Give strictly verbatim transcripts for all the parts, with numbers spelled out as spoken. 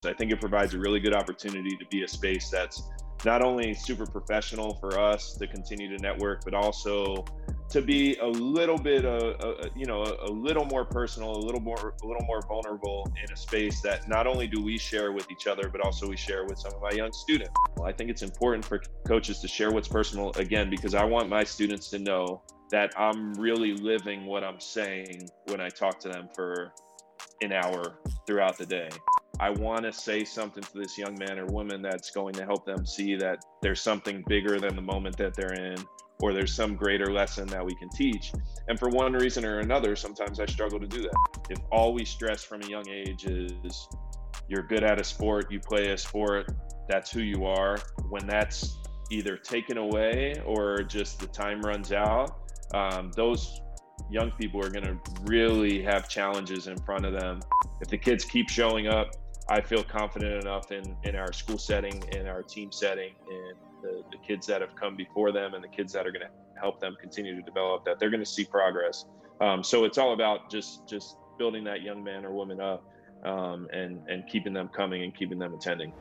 I think it provides a really good opportunity to be a space that's not only super professional for us to continue to network, but also to be a little bit, uh, uh, you know, a, a little more personal, a little more, a little more vulnerable in a space that not only do we share with each other, but also we share with some of my young students. Well, I think it's important for coaches to share what's personal again, because I want my students to know that I'm really living what I'm saying when I talk to them for an hour throughout the day. I want to say something to this young man or woman that's going to help them see that there's something bigger than the moment that they're in, or there's some greater lesson that we can teach. And for one reason or another, sometimes I struggle to do that. If all we stress from a young age is you're good at a sport, you play a sport, that's who you are, when that's either taken away or just the time runs out, um, those young people are going to really have challenges in front of them. If the kids keep showing up, I feel confident enough in, in our school setting, in our team setting, and the, the kids that have come before them and the kids that are going to help them continue to develop, that they're going to see progress. Um, so it's all about just just building that young man or woman up um, and, and keeping them coming and keeping them attending.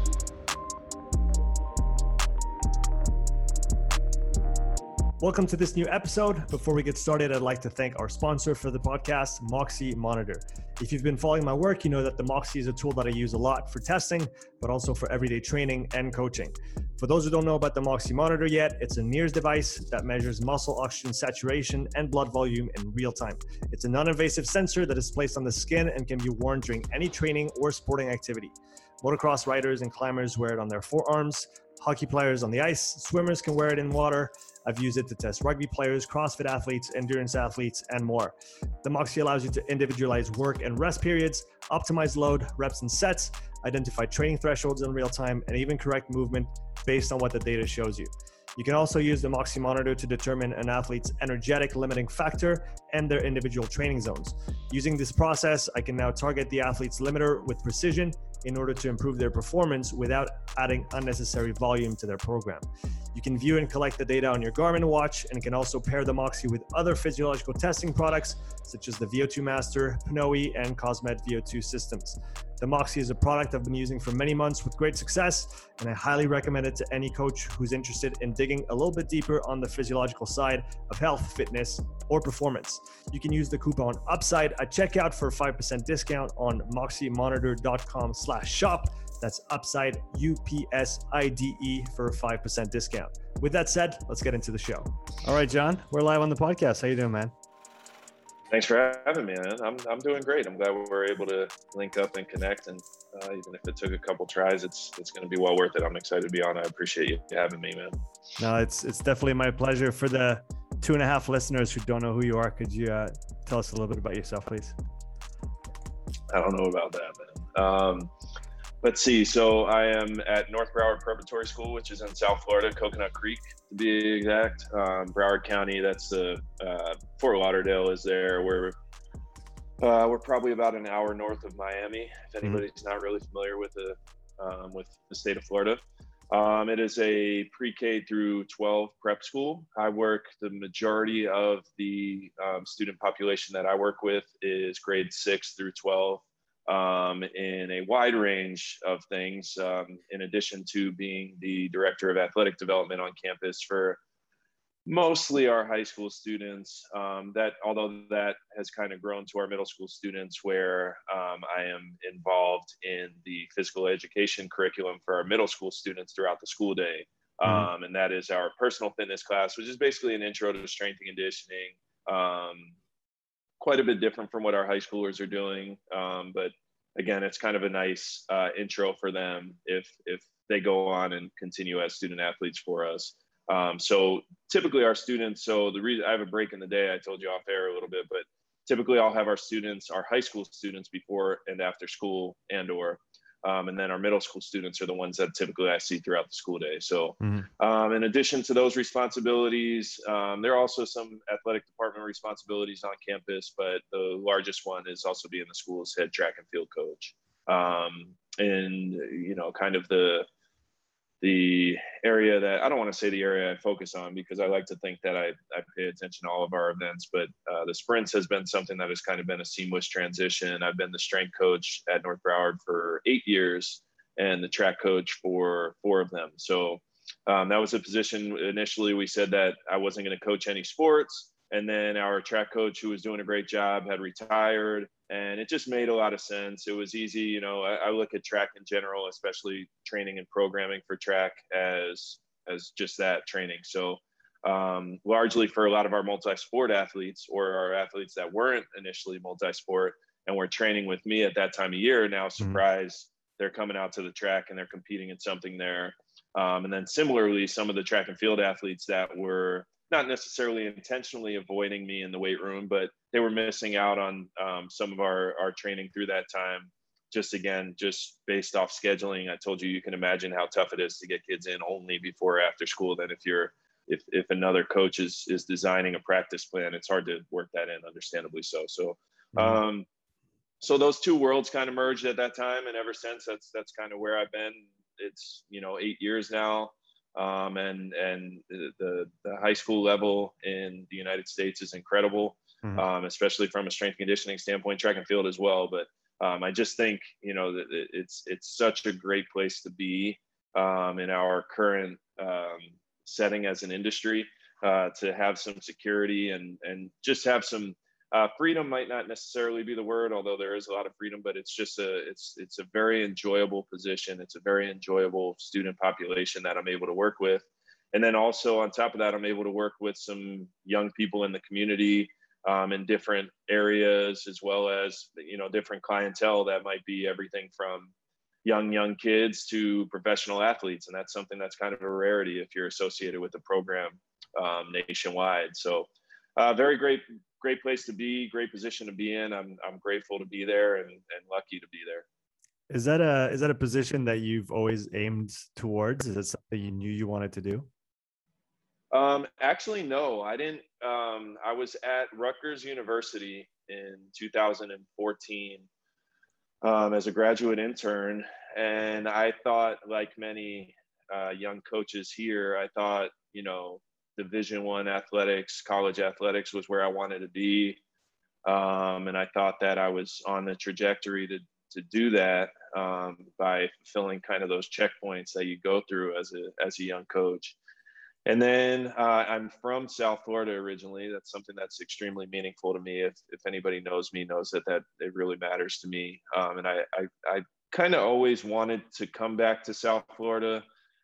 Welcome to this new episode. Before we get started, I'd like to thank our sponsor for the podcast, Moxy Monitor. If you've been following my work, you know that the Moxy is a tool that I use a lot for testing, but also for everyday training and coaching. For those who don't know about the Moxy Monitor yet, it's a N I R S device that measures muscle oxygen saturation and blood volume in real time. It's a non-invasive sensor that is placed on the skin and can be worn during any training or sporting activity. Motocross riders and climbers wear it on their forearms. Hockey players on the ice, swimmers can wear it in water. I've used it to test rugby players, CrossFit athletes, endurance athletes, and more. The Moxy allows you to individualize work and rest periods, optimize load, reps and sets, identify training thresholds in real time, and even correct movement based on what the data shows you. You can also use the Moxy Monitor to determine an athlete's energetic limiting factor and their individual training zones. Using this process, I can now target the athlete's limiter with precision in order to improve their performance without adding unnecessary volume to their program. You can view and collect the data on your Garmin watch, and can also pair the Moxy with other physiological testing products such as the V O two Master, Pnoe, and Cosmed V O two systems. The Moxy is a product I've been using for many months with great success, and I highly recommend it to any coach who's interested in digging a little bit deeper on the physiological side of health, fitness, or performance. You can use the coupon UPSIDE at checkout for a five percent discount on moxymonitor.com slash shop. That's UPSIDE, U P S I D E, for a five percent discount. With that said, let's get into the show. All right, John, we're live on the podcast. How you doing, man? Thanks for having me, man. I'm I'm doing great. I'm glad we were able to link up and connect. And uh, even if it took a couple tries, it's it's going to be well worth it. I'm excited to be on. I appreciate you having me, man. No, it's it's definitely my pleasure. For the two and a half listeners who don't know who you are, could you uh, tell us a little bit about yourself, please? I don't know about that, man. Um, let's see. So I am at North Broward Preparatory School, which is in South Florida, Coconut Creek to be exact. Um, Broward County, that's the uh, Fort Lauderdale is there. We're uh, we're probably about an hour north of Miami. If anybody's mm-hmm. not really familiar with the um, with the state of Florida, um, it is a pre-K through twelve prep school. I work the majority of the um, student population that I work with is grade six through twelve. Um, in a wide range of things, um, in addition to being the director of athletic development on campus for mostly our high school students. Um, that, although that has kind of grown to our middle school students, where um, I am involved in the physical education curriculum for our middle school students throughout the school day. Um, mm-hmm. And that is our personal fitness class, which is basically an intro to strength and conditioning. Um, quite a bit different from what our high schoolers are doing. Um, but again, it's kind of a nice uh, intro for them if if they go on and continue as student athletes for us. Um, so typically our students, so the reason I have a break in the day, I told you off air a little bit, but typically I'll have our students, our high school students before and after school and or Um, and then our middle school students are the ones that typically I see throughout the school day. So mm-hmm. um, in addition to those responsibilities, um, there are also some athletic department responsibilities on campus, but the largest one is also being the school's head track and field coach. Um, and, you know, kind of the the area that I don't want to say the area I focus on, because I like to think that I, I pay attention to all of our events, but uh, the sprints has been something that has kind of been a seamless transition. I've been the strength coach at North Broward for eight years and the track coach for four of them. So um, that was a position. Initially, we said that I wasn't going to coach any sports. And then our track coach, who was doing a great job, had retired, and it just made a lot of sense. It was easy. You know, I, I look at track in general, especially training and programming for track, as as just that, training. So um, largely for a lot of our multi-sport athletes, or our athletes that weren't initially multi-sport and were training with me at that time of year, now surprise, mm-hmm. they're coming out to the track and they're competing in something there. Um, and then similarly, some of the track and field athletes that were not necessarily intentionally avoiding me in the weight room, but they were missing out on um, some of our, our training through that time. Just again, just based off scheduling. I told you, you can imagine how tough it is to get kids in only before or after school. Then if you're, if, if another coach is, is designing a practice plan, it's hard to work that in, understandably so. So, mm-hmm. um, so those two worlds kind of merged at that time. And ever since, that's, that's kind of where I've been. It's, you know, eight years now. Um, and and the, the high school level in the United States is incredible, mm-hmm. um, especially from a strength and conditioning standpoint, track and field as well. But um, I just think, you know, that it's it's such a great place to be um, in our current um, setting as an industry, uh, to have some security and and just have some uh, freedom. Might not necessarily be the word, although there is a lot of freedom, but it's just a it's it's a very enjoyable position. It's a very enjoyable student population that I'm able to work with. And then also on top of that, I'm able to work with some young people in the community um, in different areas, as well as, you know, different clientele that might be everything from young, young kids to professional athletes. And that's something that's kind of a rarity if you're associated with the program um, nationwide. So uh, very great, great place to be, great position to be in. I'm, I'm grateful to be there and, and lucky to be there. Is that a, is that a position that you've always aimed towards? Is it something you knew you wanted to do? Um, actually, no, I didn't. Um, I was at Rutgers University in two thousand fourteen um, as a graduate intern. And I thought, like many uh, young coaches here, I thought, you know, Division One athletics, college athletics was where I wanted to be. Um, and I thought that I was on the trajectory to, to do that um, by fulfilling kind of those checkpoints that you go through as a, as a young coach. And then uh, I'm from South Florida originally. That's something that's extremely meaningful to me. If if anybody knows me, knows that that it really matters to me. Um, and I I, I kind of always wanted to come back to South Florida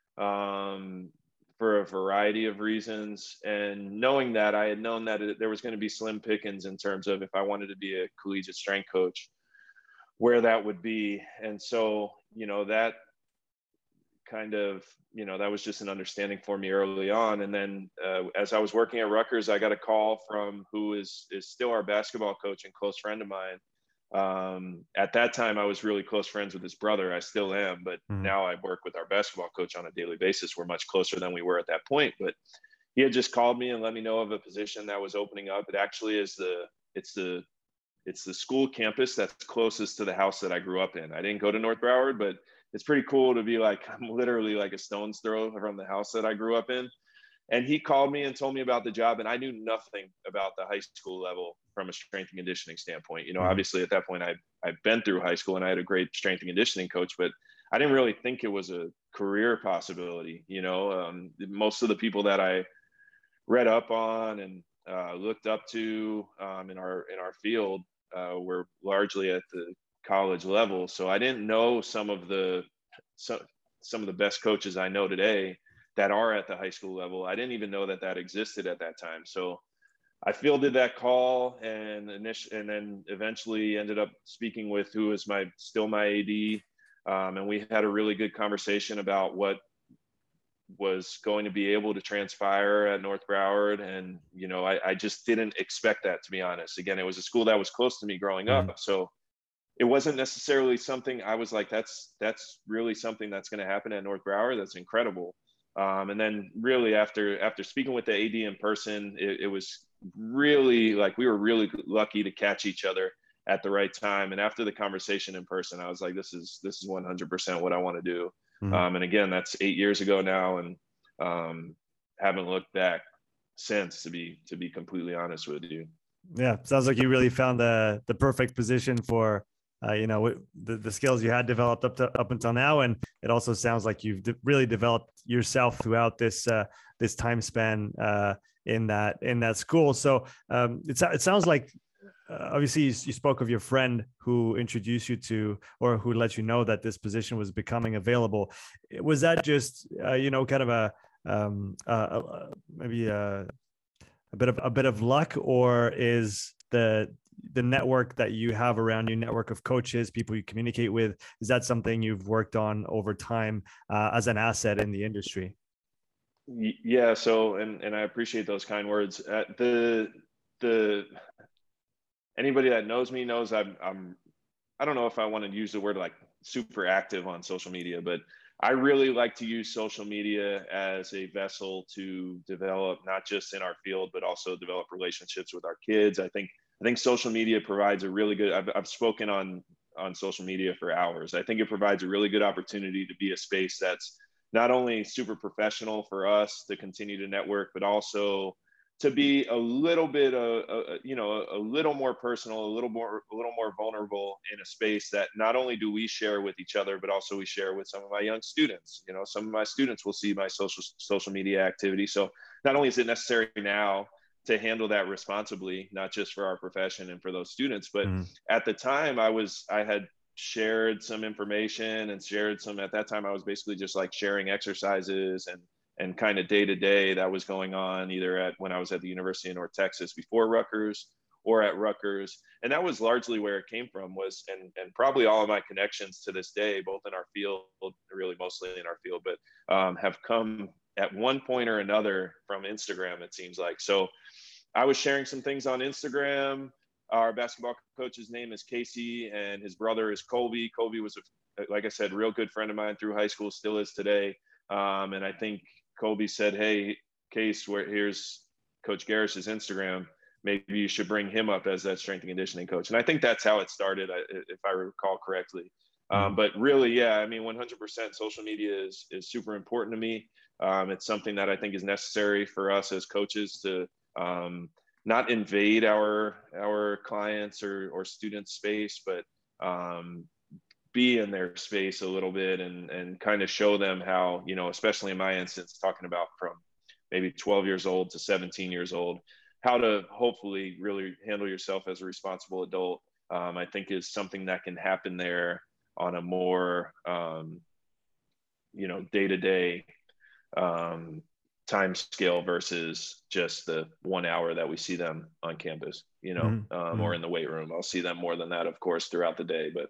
um, for a variety of reasons. And knowing that, I had known that it, there was going to be slim pickings in terms of if I wanted to be a collegiate strength coach, where that would be. And so, you know, that kind of, you know, that was just an understanding for me early on. And then uh, as I was working at Rutgers, I got a call from who is is still our basketball coach and close friend of mine. Um, at that time, I was really close friends with his brother. I still am, but mm-hmm. now I work with our basketball coach on a daily basis. We're much closer than we were at that point. But he had just called me and let me know of a position that was opening up. It actually is the it's the it's the school campus that's closest to the house that I grew up in. I didn't go to North Broward, but it's pretty cool to be like, I'm literally like a stone's throw from the house that I grew up in. And he called me and told me about the job. And I knew nothing about the high school level from a strength and conditioning standpoint. You know, mm-hmm. obviously at that point I, I'd been through high school and I had a great strength and conditioning coach, but I didn't really think it was a career possibility. You know, um, most of the people that I read up on and uh, looked up to um, in our, in our field uh, were largely at the college level. So I didn't know some of the some, some of the best coaches I know today that are at the high school level. I didn't even know that that existed at that time. So I fielded that call and initially, and then eventually ended up speaking with who is my still my A D. Um, and we had a really good conversation about what was going to be able to transpire at North Broward. And, you know, I, I just didn't expect that, to be honest. Again, it was a school that was close to me growing mm-hmm. up. So it wasn't necessarily something I was like, that's, that's really something that's going to happen at North Broward. That's incredible. Um, and then really after, after speaking with the A D in person, it, it was really like, we were really lucky to catch each other at the right time. And after the conversation in person, I was like, this is, this is one hundred percent what I want to do. Mm-hmm. Um, and again, that's eight years ago now, and um, haven't looked back since, to be to be completely honest with you. Yeah, sounds like you really found the the perfect position for uh, you know the, the skills you had developed up to up until now, and it also sounds like you've de- really developed yourself throughout this uh, this time span uh, in that in that school. So um, it it sounds like uh, obviously you, you spoke of your friend who introduced you to or who let you know that this position was becoming available. Was that just uh, you know kind of a um, uh, uh, maybe a a bit of a bit of luck, or is the the network that you have around you, network of coaches, people you communicate with, is that something you've worked on over time uh, as an asset in the industry? Yeah. So, and and I appreciate those kind words. Uh, the the anybody that knows me knows I'm I'm I don't know if I want to use the word like super active on social media, but I really like to use social media as a vessel to develop not just in our field, but also develop relationships with our kids. I think I think social media provides a really good. I've, I've spoken on on social media for hours. I think it provides a really good opportunity to be a space that's not only super professional for us to continue to network, but also to be a little bit, uh, uh, you know, a little more personal, a little more, a little more vulnerable in a space that not only do we share with each other, but also we share with some of my young students. You know, some of my students will see my social social media activity. So not only is it necessary now to handle that responsibly, not just for our profession and for those students, but Mm-hmm. at the time I was, I had shared some information and shared some, at that time I was basically just like sharing exercises and and kind of day to day that was going on either at when I was at the University of North Texas before Rutgers or at Rutgers. And that was largely where it came from was, and, and probably all of my connections to this day, both in our field, really mostly in our field, but um, have come at one point or another from Instagram, it seems like. So I was sharing some things on Instagram. Our basketball coach's name is Casey and his brother is Colby. Colby was, a, like I said, real good friend of mine through high school, still is today. Um, and I think Colby said, "Hey, Case, where here's Coach Garish's Instagram. Maybe you should bring him up as that strength and conditioning coach." And I think that's how it started, if I recall correctly. Mm-hmm. Um, but really, yeah, I mean, one hundred percent social media is is super important to me. Um, it's something that I think is necessary for us as coaches to um, not invade our our clients or or students' space, but um, be in their space a little bit and and kind of show them how, you know, especially in my instance, talking about from maybe twelve years old to seventeen years old, how to hopefully really handle yourself as a responsible adult, um, I think is something that can happen there on a more, um, you know, day-to-day um, time scale versus just the one hour that we see them on campus, you know, Mm-hmm. um, Mm-hmm. or in the weight room. I'll see them more than that, of course, throughout the day, but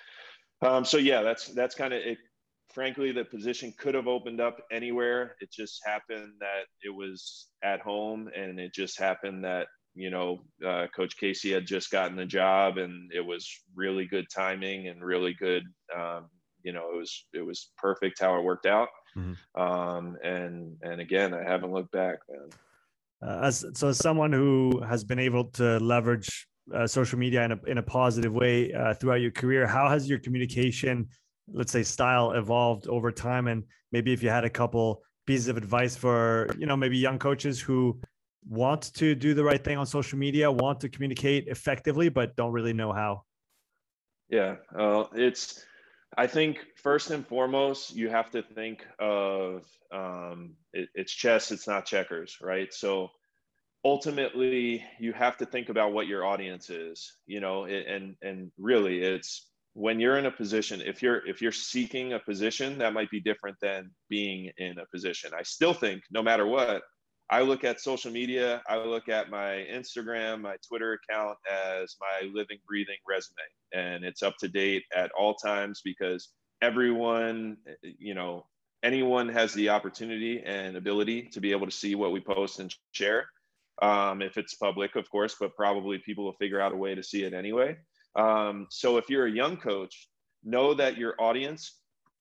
Um, so yeah, that's that's kind of it. Frankly, the position could have opened up anywhere. It just happened that it was at home, and it just happened that, you know, uh, Coach Casey had just gotten the job, and it was really good timing and really good. Um, you know, it was it was perfect how it worked out. Mm-hmm. Um, and and again, I haven't looked back, man. Uh, as so, as someone who has been able to leverage uh, social media in a in a positive way uh, throughout your career, how has your communication, let's say, style evolved over time? And maybe if you had a couple pieces of advice for, you know, maybe young coaches who want to do the right thing on social media, want to communicate effectively, but don't really know how. Yeah, uh, it's. I think first and foremost, you have to think of um, it, it's chess, it's not checkers, right? So ultimately, you have to think about what your audience is, you know, and and really, it's when you're in a position. If you're if you're seeking a position, that might be different than being in a position. I still think, no matter what, I look at social media, I look at my Instagram, my Twitter account as my living, breathing resume. And it's up to date at all times because everyone, you know, anyone has the opportunity and ability to be able to see what we post and share. Um, if it's public, of course, but probably people will figure out a way to see it anyway. Um, so if you're a young coach, know that your audience,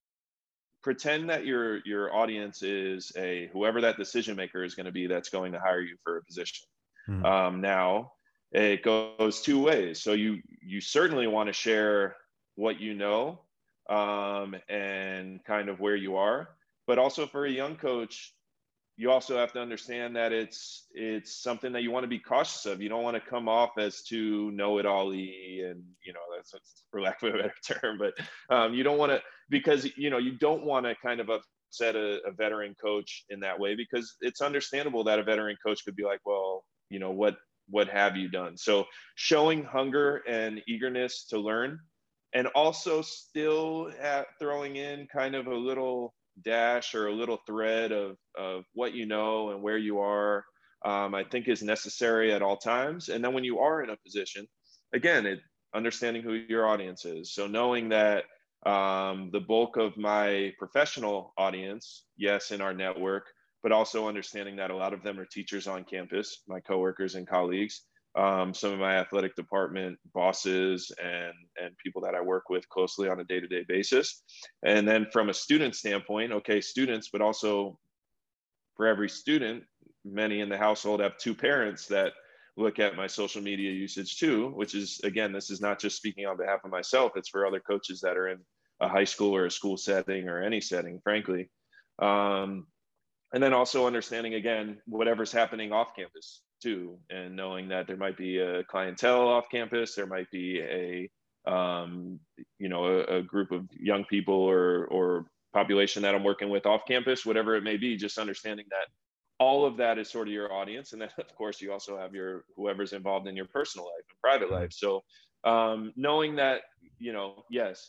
pretend that your your audience is a whoever that decision maker is going to be that's going to hire you for a position. Mm-hmm. Um, now it goes two ways. So you you certainly want to share what you know, um, and kind of where you are. But also for a young coach, you also have to understand that it's it's something that you want to be cautious of. You don't want to come off as too know-it-all-y, and you know that's, that's for lack of a better term. But um, you don't want to, because you know you don't want to kind of upset a, a veteran coach in that way, because it's understandable that a veteran coach could be like, well, you know what what have you done? So showing hunger and eagerness to learn, and also still at throwing in kind of a little dash or a little thread of, of what you know and where you are, um, I think is necessary at all times. And then when you are in a position, again, it, understanding who your audience is. So knowing that um, the bulk of my professional audience, yes, in our network, but also understanding that a lot of them are teachers on campus, my coworkers and colleagues, um, some of my athletic department bosses and, and people that I work with closely on a day-to-day basis. And then from a student standpoint, okay, students, but also for every student, many in the household have two parents that look at my social media usage too, which is, again, this is not just speaking on behalf of myself, it's for other coaches that are in a high school or a school setting or any setting, frankly. Um, and then also understanding, again, whatever's happening off campus too, and knowing that there might be a clientele off campus, there might be a, um, you know, a, a group of young people or, or population that I'm working with off campus, whatever it may be, just understanding that all of that is sort of your audience. And then of course you also have your, whoever's involved in your personal life and private life. So um, knowing that, you know, yes,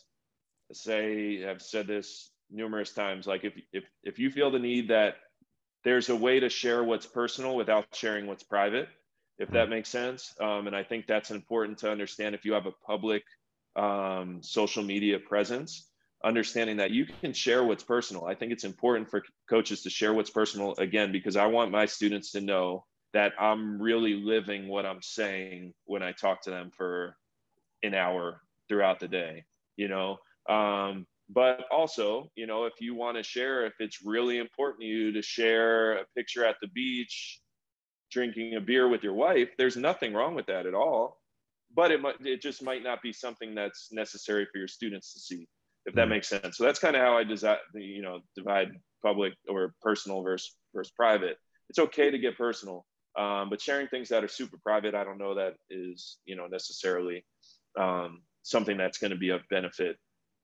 say, I've said this numerous times, like if, if, if you feel the need that there's a way to share what's personal without sharing what's private, if that makes sense. Um, and I think that's important to understand if you have a public um, social media presence, understanding that you can share what's personal. I think it's important for coaches to share what's personal, again, because I want my students to know that I'm really living what I'm saying when I talk to them for an hour throughout the day, you know? Um, But also, you know, if you want to share, if it's really important to you to share a picture at the beach, drinking a beer with your wife, there's nothing wrong with that at all. But it might, it just might not be something that's necessary for your students to see, if that makes sense. So that's kind of how I design, you know, divide public or personal versus versus private. It's okay to get personal, um, but sharing things that are super private, I don't know that is, you know, necessarily um, something that's going to be of benefit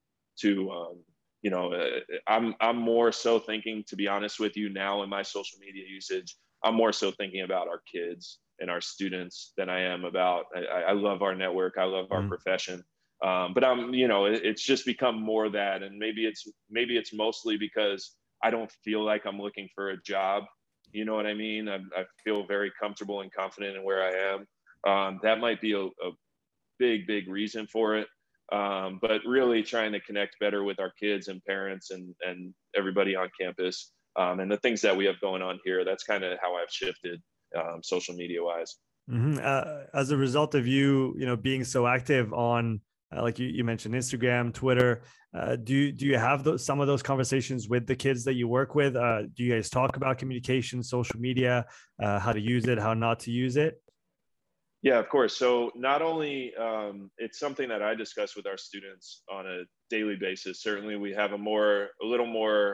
to, um, you know, uh, I'm, I'm more so thinking, to be honest with you now in my social media usage, I'm more so thinking about our kids and our students than I am about, I, I love our network. I love our mm. profession. Um, but I'm, you know, it, it's just become more that, and maybe it's, maybe it's mostly because I don't feel like I'm looking for a job. You know what I mean? I, I feel very comfortable and confident in where I am. Um, that might be a, a big, big reason for it. Um, but really trying to connect better with our kids and parents and, and everybody on campus, um, and the things that we have going on here. That's kind of how I've shifted um, social media wise. Mm-hmm. Uh, as a result of you, you know, being so active on, uh, like you, you mentioned, Instagram, Twitter, uh, do you, do you have those, some of those conversations with the kids that you work with? Uh, do you guys talk about communication, social media, uh, how to use it, how not to use it? Yeah, of course. So not only um, it's something that I discuss with our students on a daily basis. Certainly, we have a more, a little more.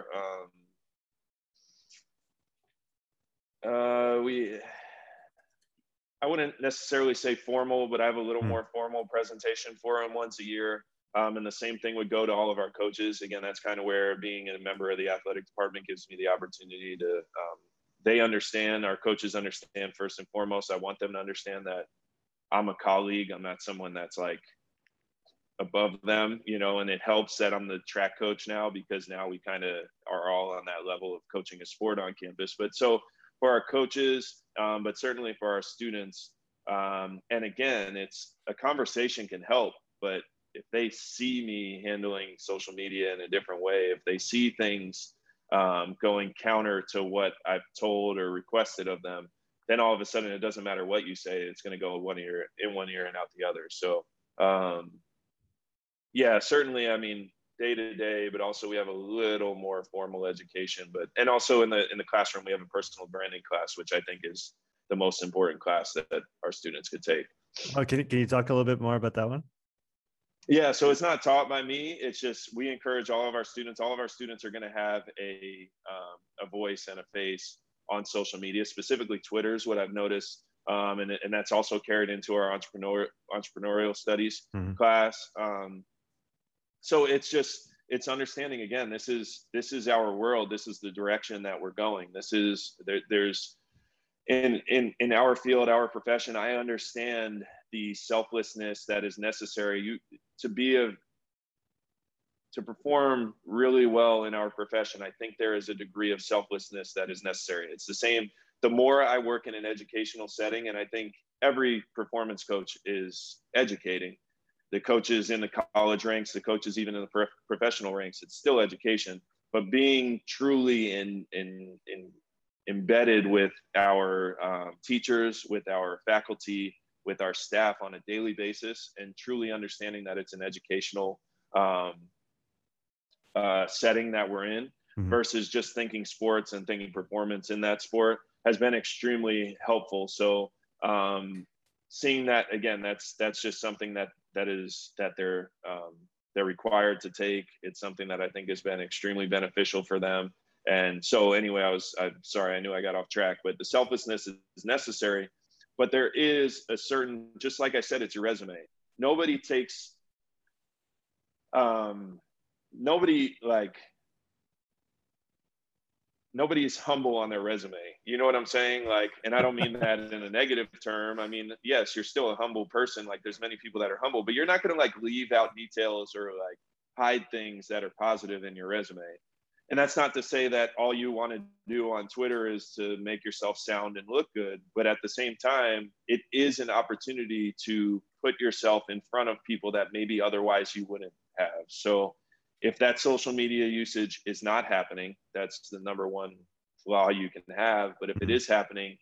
Um, uh, we, I wouldn't necessarily say formal, but I have a little mm. more formal presentation for them once a year. Um, and the same thing would go to all of our coaches. Again, that's kind of where being a member of the athletic department gives me the opportunity to. Um, they understand, our coaches understand first and foremost. I want them to understand that I'm a colleague. I'm not someone that's like above them, you know, and it helps that I'm the track coach now, because now we kind of are all on that level of coaching a sport on campus. But so for our coaches, um, but certainly for our students, um, and again, it's a conversation can help, but if they see me handling social media in a different way, if they see things um, going counter to what I've told or requested of them, then all of a sudden it doesn't matter what you say, it's going to go one ear in one ear and out the other. So um, yeah, certainly, I mean, day to day, but also we have a little more formal education, but, and also in the, in the classroom, we have a personal branding class, which I think is the most important class that, that our students could take. Oh, can, can you talk a little bit more about that one? Yeah, so it's not taught by me. It's just we encourage all of our students. All of our students are going to have a um, a voice and a face on social media. Specifically, Twitter is what I've noticed, um, and and that's also carried into our entrepreneur entrepreneurial studies Mm-hmm. class. Um, so it's just it's understanding again. This is this is our world. This is the direction that we're going. This is there, there's in in in our field, our profession. I understand the selflessness that is necessary. You to be a to perform really well in our profession, I think there is a degree of selflessness that is necessary. It's the same. The more I work in an educational setting, and I think every performance coach is educating, the coaches in the college ranks, the coaches even in the pro- professional ranks, it's still education. But being truly in in in embedded with our um, teachers, with our faculty, with our staff on a daily basis, and truly understanding that it's an educational um, uh, setting that we're in, Mm-hmm. versus just thinking sports and thinking performance in that sport has been extremely helpful. So um, seeing that again, that's that's just something that that is that they're um, they're required to take. It's something that I think has been extremely beneficial for them. And so anyway, I was I'm sorry, I knew I got off track, but the selflessness is, is necessary. But there is a certain, just like I said, it's your resume. Nobody takes um nobody like nobody is humble on their resume. You know what I'm saying? Like, and I don't mean that in a negative term. I mean, yes, you're still a humble person. Like there's many people that are humble, but you're not going to like leave out details or like hide things that are positive in your resume. And that's not to say that all you want to do on Twitter is to make yourself sound and look good. But at the same time, it is an opportunity to put yourself in front of people that maybe otherwise you wouldn't have. So if that social media usage is not happening, that's the number one flaw you can have. But if it is happening,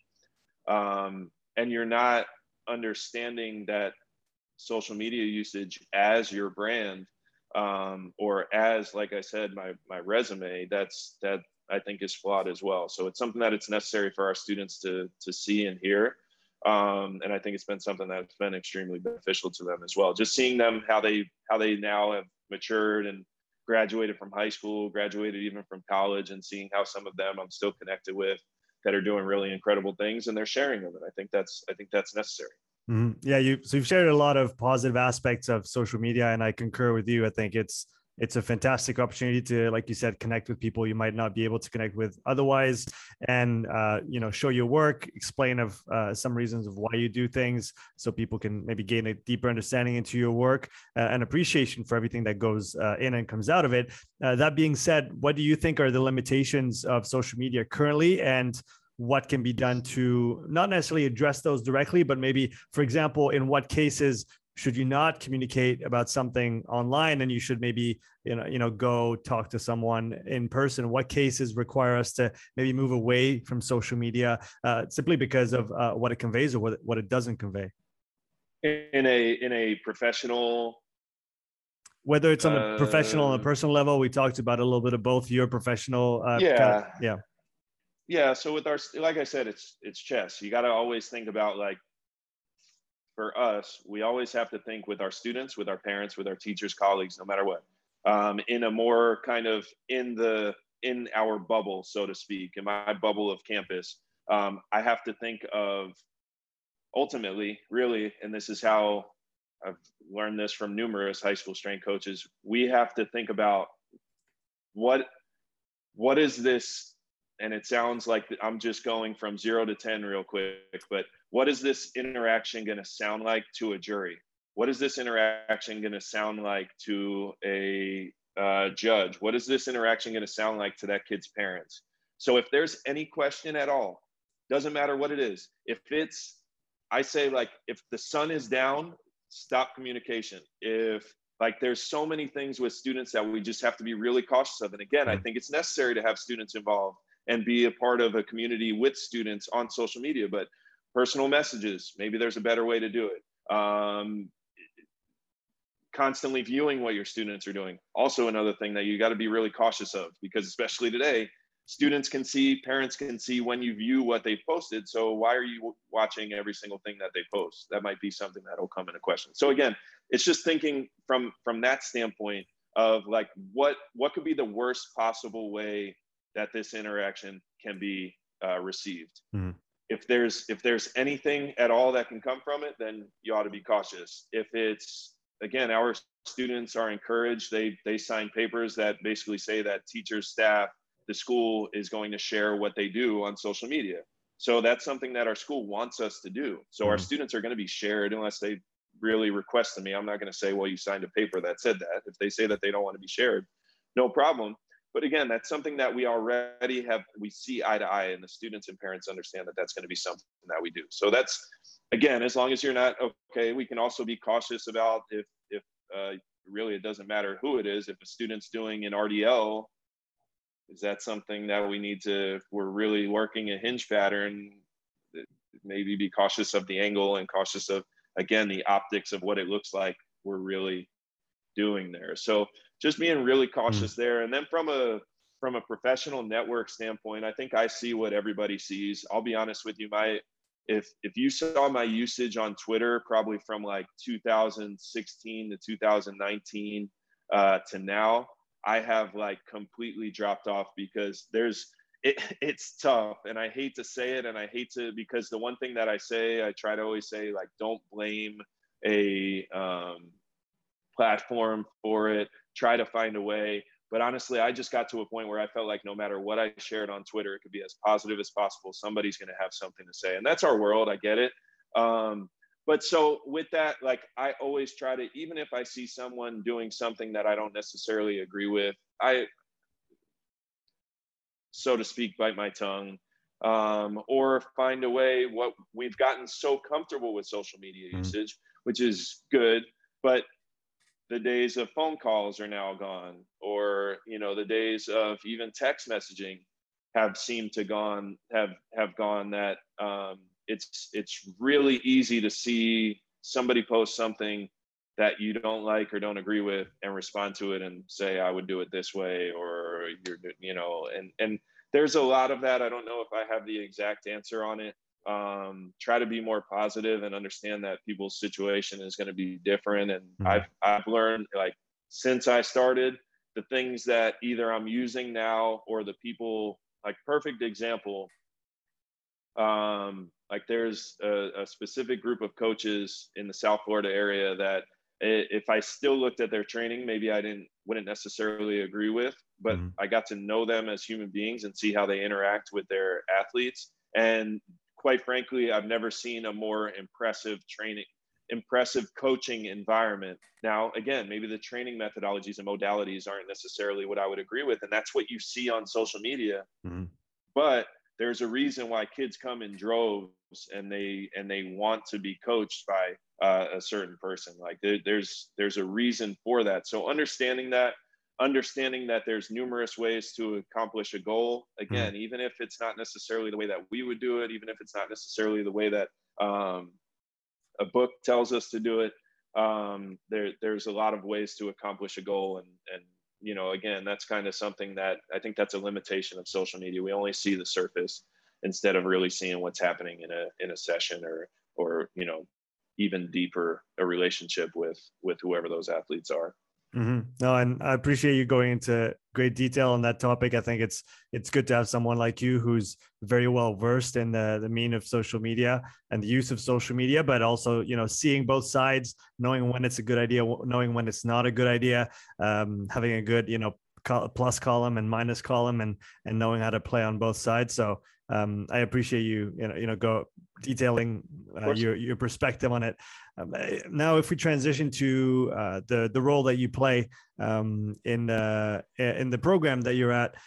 um, and you're not understanding that social media usage as your brand, um, or as, like I said, my my resume, that's that I think is flawed as well. So it's something that it's necessary for our students to to see and hear. Um, and I think it's been something that's been extremely beneficial to them as well. Just seeing them how they how they now have matured and graduated from high school, graduated even from college, and seeing how some of them I'm still connected with that are doing really incredible things and they're sharing them. And I think that's I think that's necessary. Mm-hmm. Yeah, you so you've shared a lot of positive aspects of social media, and I concur with you. I think it's it's a fantastic opportunity to, like you said, connect with people you might not be able to connect with otherwise, and uh, you know, show your work, explain of uh, some reasons of why you do things, so people can maybe gain a deeper understanding into your work uh, and appreciation for everything that goes uh, in and comes out of it. Uh, that being said, what do you think are the limitations of social media currently, and what can be done to not necessarily address those directly, but maybe, for example, in what cases should you not communicate about something online and you should maybe, you know, you know, go talk to someone in person? What cases require us to maybe move away from social media uh, simply because of uh, what it conveys or what it, what it doesn't convey? In a in a professional, whether it's on a uh, professional and a personal level, we talked about a little bit of both. Your professional, uh, yeah, kind of, yeah. Yeah, so with our, like I said, it's it's chess. You got to always think about, like, for us, we always have to think with our students, with our parents, with our teachers, colleagues, no matter what, um, in a more kind of in the in our bubble, so to speak, in my bubble of campus. Um, I have to think of ultimately, really, and this is how I've learned this from numerous high school strength coaches. We have to think about what what is this. And it sounds like I'm just going from zero to ten real quick, but what is this interaction going to sound like to a jury? What is this interaction going to sound like to a uh, judge? What is this interaction going to sound like to that kid's parents? So if there's any question at all, doesn't matter what it is. If it's, I say, like, if the sun is down, stop communication. If, like, there's so many things with students that we just have to be really cautious of. And again, I think it's necessary to have students involved and be a part of a community with students on social media, but personal messages, maybe there's a better way to do it. Um, constantly viewing what your students are doing, also another thing that you got to be really cautious of, because especially today, students can see, parents can see when you view what they posted. So why are you watching every single thing that they post? That might be something that'll come into question. So again, it's just thinking from from that standpoint of like what what could be the worst possible way that this interaction can be uh, received. Mm-hmm. If there's if there's anything at all that can come from it, then you ought to be cautious. If it's, again, our students are encouraged, they they sign papers that basically say that teachers, staff, the school is going to share what they do on social media. So that's something that our school wants us to do. So mm-hmm. our students are going to be shared unless they really request of me. I'm not going to say, well, you signed a paper that said that. If they say that they don't want to be shared, no problem. But again, that's something that we already have, we see eye to eye, and the students and parents understand that that's going to be something that we do. So that's, again, as long as you're not, okay, we can also be cautious about if, if uh, really it doesn't matter who it is. If a student's doing an R D L, is that something that we need to, if we're really working a hinge pattern, maybe be cautious of the angle and cautious of, again, the optics of what it looks like we're really doing there. So just being really cautious mm. there. And then from a from a professional network standpoint, I think I see what everybody sees. I'll be honest with you, my if if you saw my usage on Twitter, probably from like two thousand sixteen to two thousand nineteen uh, to now, I have like completely dropped off because there's it, it's tough, and I hate to say it, and I hate to, because the one thing that I say, I try to always say, like, don't blame a um, platform for it. Try to find a way. But honestly, I just got to a point where I felt like no matter what I shared on Twitter, it could be as positive as possible. Somebody's going to have something to say, and that's our world. I get it. Um, but so with that, like, I always try to, even if I see someone doing something that I don't necessarily agree with, I, so to speak, bite my tongue, um, or find a way. What we've gotten so comfortable with social media mm-hmm. usage, which is good, but the days of phone calls are now gone, or, you know, the days of even text messaging have seemed to gone, have, have gone that um, it's, it's really easy to see somebody post something that you don't like or don't agree with and respond to it and say, I would do it this way, or you're, you know, and, and there's a lot of that. I don't know if I have the exact answer on it. Um, try to be more positive and understand that people's situation is going to be different. And mm-hmm. I've, I've learned, like, since I started, the things that either I'm using now or the people, like, perfect example. Um, like there's a, a specific group of coaches in the South Florida area that if I still looked at their training, maybe I didn't, wouldn't necessarily agree with, but mm-hmm. I got to know them as human beings and see how they interact with their athletes. And quite frankly, I've never seen a more impressive training, impressive coaching environment. Now, again, maybe the training methodologies and modalities aren't necessarily what I would agree with, and that's what you see on social media. Mm-hmm. But there's a reason why kids come in droves and they and they want to be coached by uh, a certain person. Like there, there's there's a reason for that. So understanding that. Understanding that there's numerous ways to accomplish a goal. Again, mm-hmm. even if it's not necessarily the way that we would do it, even if it's not necessarily the way that um, a book tells us to do it, um, there, there's a lot of ways to accomplish a goal. And, and, you know, again, that's kind of something that I think that's a limitation of social media. We only see the surface instead of really seeing what's happening in a, in a session or, or, you know, even deeper a relationship with, with whoever those athletes are. Mm-hmm. No, and I appreciate you going into great detail on that topic. I think it's it's good to have someone like you who's very well versed in the the mean of social media and the use of social media, but also, you know, seeing both sides, knowing when it's a good idea, knowing when it's not a good idea, um, having a good, you know, plus column and minus column, and and knowing how to play on both sides. So um, I appreciate you, you know, you know, go detailing uh, your your perspective on it. Um, now, if we transition to uh, the the role that you play um, in uh, in the program that you're at,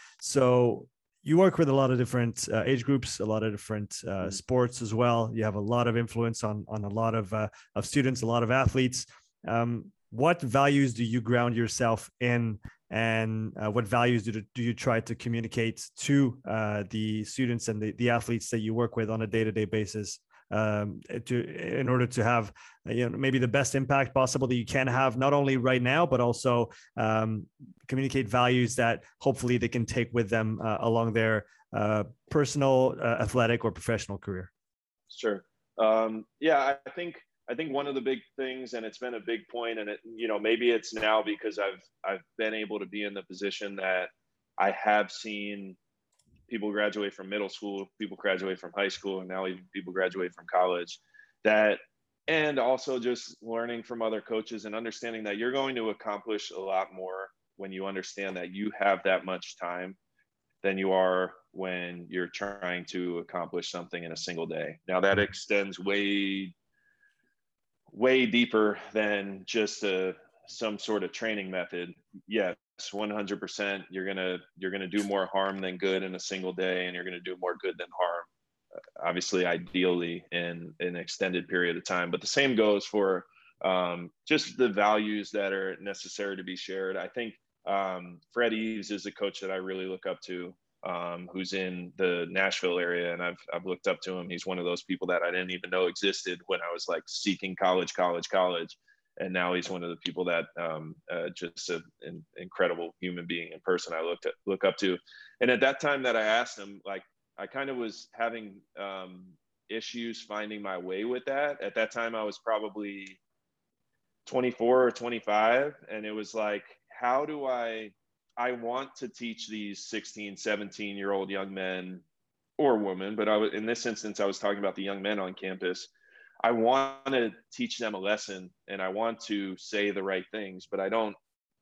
so you work with a lot of different uh, age groups, a lot of different uh, sports as well. You have a lot of influence on on a lot of uh, of students, a lot of athletes. Um, what values do you ground yourself in, and uh, what values do, do you try to communicate to uh, the students and the, the athletes that you work with on a day-to-day basis? um, to in order to have, you know, maybe the best impact possible that you can have, not only right now, but also um, communicate values that hopefully they can take with them uh, along their uh, personal, uh, athletic, or professional career. Sure. Um, yeah, I think I think one of the big things, and it's been a big point, and it, you know, maybe it's now because I've I've been able to be in the position that I have seen people graduate from middle school, people graduate from high school, and now even people graduate from college. That, and also just learning from other coaches and understanding that you're going to accomplish a lot more when you understand that you have that much time than you are when you're trying to accomplish something in a single day. Now that extends way, way deeper than just a, some sort of training method. Yes, one hundred percent. You're gonna you're gonna do more harm than good in a single day, and you're gonna do more good than harm, obviously, ideally in, in an extended period of time. But the same goes for um, just the values that are necessary to be shared. I think um, Fred Eves is a coach that I really look up to, um, who's in the Nashville area. And I've, I've looked up to him. He's one of those people that I didn't even know existed when I was like seeking college, college, college. And now he's one of the people that um, uh, just a, an incredible human being in person I looked at, look up to. And at that time that I asked him, like, I kind of was having um, issues finding my way with that. At that time, I was probably twenty-four or twenty-five. And it was like, how do I, I want to teach these sixteen, seventeen year old young men or women, but I was, in this instance, I was talking about the young men on campus. I want to teach them a lesson and I want to say the right things, but I don't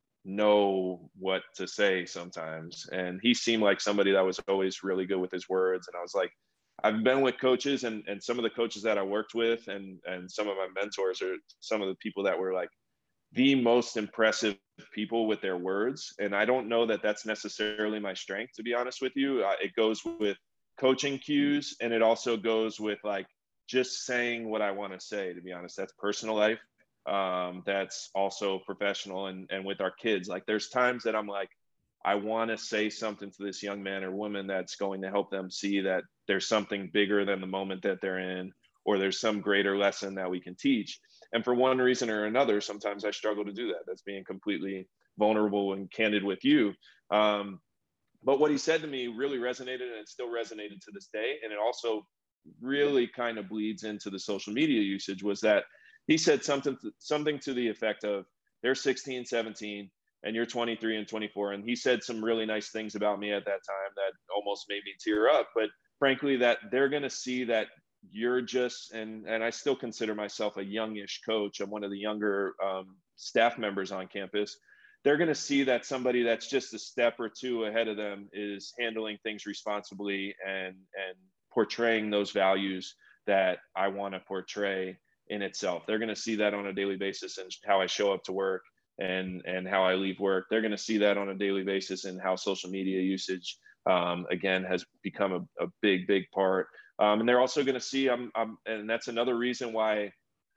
know what to say sometimes. And he seemed like somebody that was always really good with his words. And I was like, I've been with coaches, and, and some of the coaches that I worked with and, and some of my mentors are some of the people that were like the most impressive people with their words. And I don't know that that's necessarily my strength, to be honest with you. Uh, it goes with coaching cues, and it also goes with like just saying what I want to say, to be honest. That's personal life. Um, that's also professional. And, and with our kids, like there's times that I'm like, I want to say something to this young man or woman that's going to help them see that there's something bigger than the moment that they're in, or there's some greater lesson that we can teach. And for one reason or another, sometimes I struggle to do that. That's being completely vulnerable and candid with you. Um, but what he said to me really resonated, and it still resonated to this day. And it also really kind of bleeds into the social media usage, was that he said something, something to the effect of, they're sixteen, seventeen, and you're twenty-three and twenty-four. And he said some really nice things about me at that time that almost made me tear up. But frankly, that they're going to see that you're just, and, and I still consider myself a youngish coach. I'm one of the younger um, staff members on campus. They're going to see that somebody that's just a step or two ahead of them is handling things responsibly and, and portraying those values that I want to portray in itself. They're going to see that on a daily basis in how I show up to work and, and how I leave work. They're going to see that on a daily basis in how social media usage, um, again, has become a, a big, big part. Um, and they're also going to see, I'm, I'm, and that's another reason why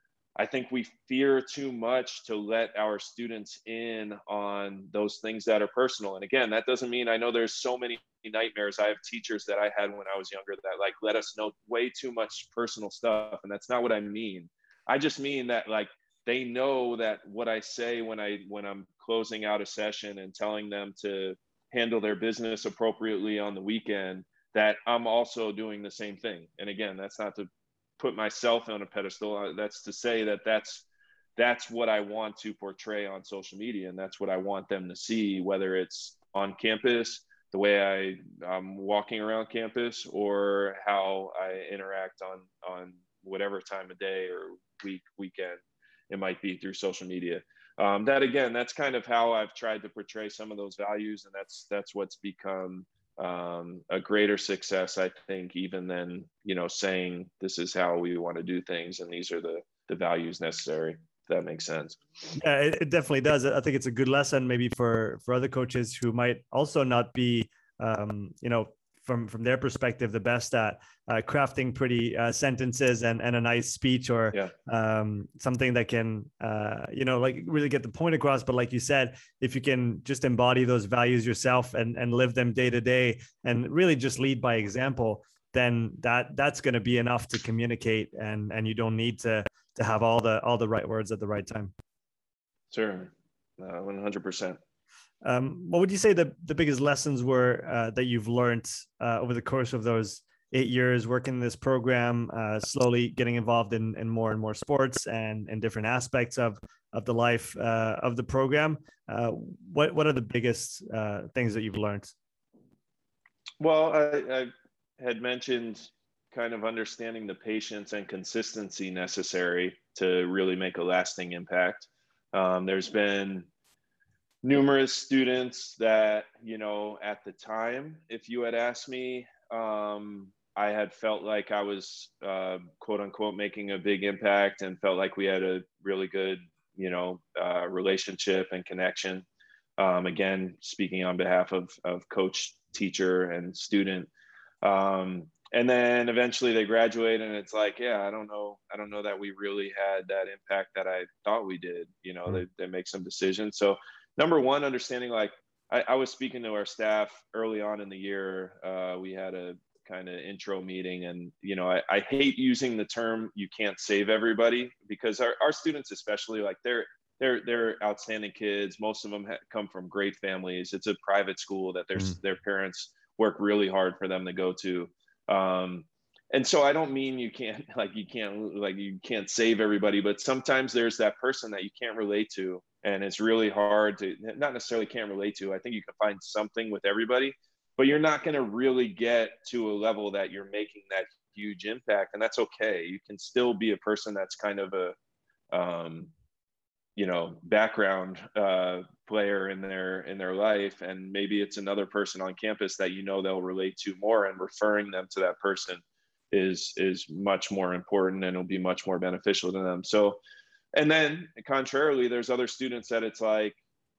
I think we fear too much to let our students in on those things that are personal. And again, that doesn't mean, I know there's so many nightmares. I have teachers that I had when I was younger that like let us know way too much personal stuff. And that's not what I mean. I just mean that like they know that what I say when I when I'm closing out a session and telling them to handle their business appropriately on the weekend, that I'm also doing the same thing. And again, that's not to put myself on a pedestal. That's to say that that's that's what I want to portray on social media, and that's what I want them to see, whether it's on campus, the way I, I'm walking around campus, or how I interact on on whatever time of day or week, weekend it might be through social media. Um, that again, that's kind of how I've tried to portray some of those values, and that's that's what's become um, a greater success, I think, even than, you know, saying this is how we want to do things and these are the the values necessary. If that makes sense. Yeah, it, it definitely does. I think it's a good lesson maybe for for other coaches who might also not be, um, you know, from from their perspective, the best at uh, crafting pretty uh, sentences and, and a nice speech, or yeah. um, something that can, uh, you know, like really get the point across. But like you said, if you can just embody those values yourself and, and live them day to day and really just lead by example, then that that's going to be enough to communicate, and and you don't need to to have all the all the right words at the right time. Sure, uh, one hundred percent. Um, what would you say the, the biggest lessons were uh, that you've learned uh, over the course of those eight years working in this program, uh, slowly getting involved in, in more and more sports and, and different aspects of, of the life uh, of the program? Uh, what, what are the biggest uh, things that you've learned? Well, I, I had mentioned kind of understanding the patience and consistency necessary to really make a lasting impact. Um, there's been numerous students that, you know, at the time, if you had asked me, um, I had felt like I was, uh, quote unquote, making a big impact and felt like we had a really good, you know, uh, relationship and connection. Um, again, speaking on behalf of, of coach, teacher, and student. Um, and then eventually they graduate and it's like, yeah, I don't know. I don't know that we really had that impact that I thought we did. You know, mm-hmm. they, they make some decisions. So number one, understanding, like I, I was speaking to our staff early on in the year. Uh, we had a kind of intro meeting, and, you know, I, I hate using the term, you can't save everybody, because our, our students, especially, like they're, they're, they're outstanding kids. Most of them ha- come from great families. It's a private school that their, mm. their parents work really hard for them to go to. Um, and so I don't mean you can't, like, you can't, like, you can't save everybody, but sometimes there's that person that you can't relate to. And it's really hard to, not necessarily can't relate to. I think you can find something with everybody, but you're not going to really get to a level that you're making that huge impact. And that's okay. You can still be a person that's kind of a, um, you know, background uh, player in their, in their life. And maybe it's another person on campus that, you know, they'll relate to more, and referring them to that person is, is much more important, and it'll be much more beneficial to them. So, and then contrarily, there's other students that it's like,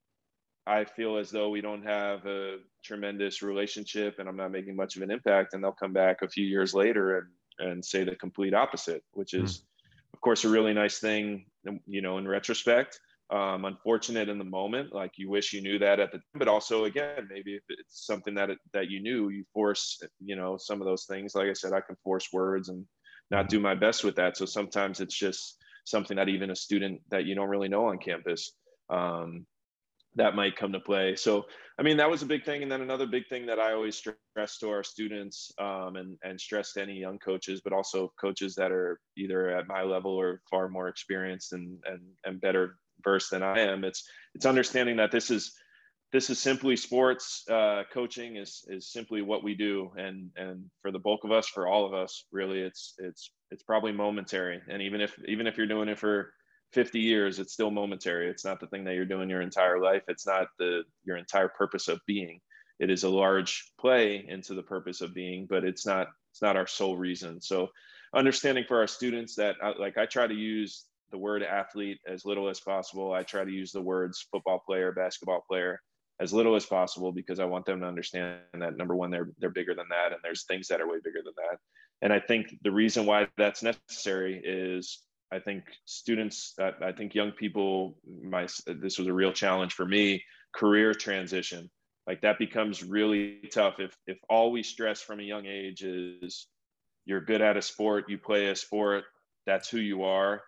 I feel as though we don't have a tremendous relationship and I'm not making much of an impact. And they'll come back a few years later and, and say the complete opposite, which is, mm. of course, a really nice thing, you know, in retrospect. Um, unfortunate in the moment, like you wish you knew that at the time, but also, again, maybe if it's something that, it, that you knew, you force, you know, some of those things. Like I said, I can force words and not do my best with that. So sometimes it's just something that even a student that you don't really know on campus, um, that might come to play. So, I mean, that was a big thing. And then another big thing that I always stress to our students, um, and, and stress to any young coaches, but also coaches that are either at my level or far more experienced and, and, and better versed than I am. It's, it's understanding that this is, this is simply sports. Uh, coaching is, is simply what we do. And, and for the bulk of us, for all of us, really, it's, it's, it's probably momentary. And even if, even if you're doing it for fifty years, it's still momentary. It's not the thing that you're doing your entire life. It's not the, your entire purpose of being. It is a large play into the purpose of being, but it's not, it's not our sole reason. So understanding for our students that, like, I try to use the word athlete as little as possible. I try to use the words football player, basketball player as little as possible, because I want them to understand that, number one, they're, they're bigger than that. And there's things that are way bigger than that. And I think the reason why that's necessary is, I think students, uh, I think young people, my, this was a real challenge for me, career transition. Like that becomes really tough if, if all we stress from a young age is you're good at a sport, you play a sport, that's who you are.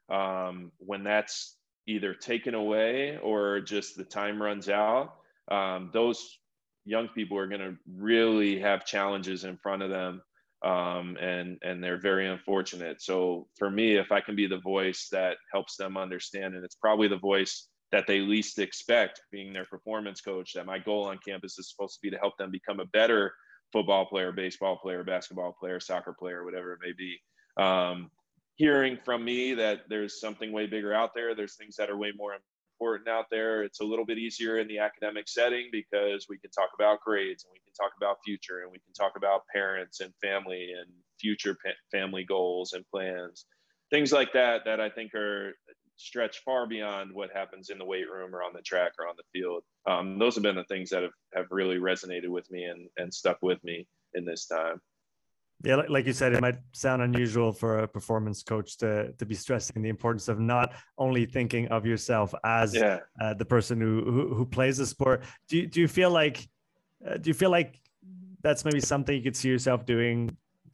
Um, when that's either taken away or just the time runs out, um, those young people are going to really have challenges in front of them. Um, and, and they're very unfortunate. So for me, if I can be the voice that helps them understand, and it's probably the voice that they least expect, being their performance coach, that my goal on campus is supposed to be to help them become a better football player, baseball player, basketball player, soccer player, whatever it may be. Um, hearing from me that there's something way bigger out there, there's things that are way more important out there. It's a little bit easier in the academic setting because we can talk about grades and we can talk about future and we can talk about parents and family and future pa- family goals and plans, things like that, that I think are stretch far beyond what happens in the weight room or on the track or on the field. Um, those have been the things that have, have really resonated with me and, and stuck with me in this time. Yeah, like you said, it might sound unusual for a performance coach to to be stressing the importance of not only thinking of yourself as yeah. uh, the person who, who who plays the sport. Do you, do you feel like uh, do you feel like that's maybe something you could see yourself doing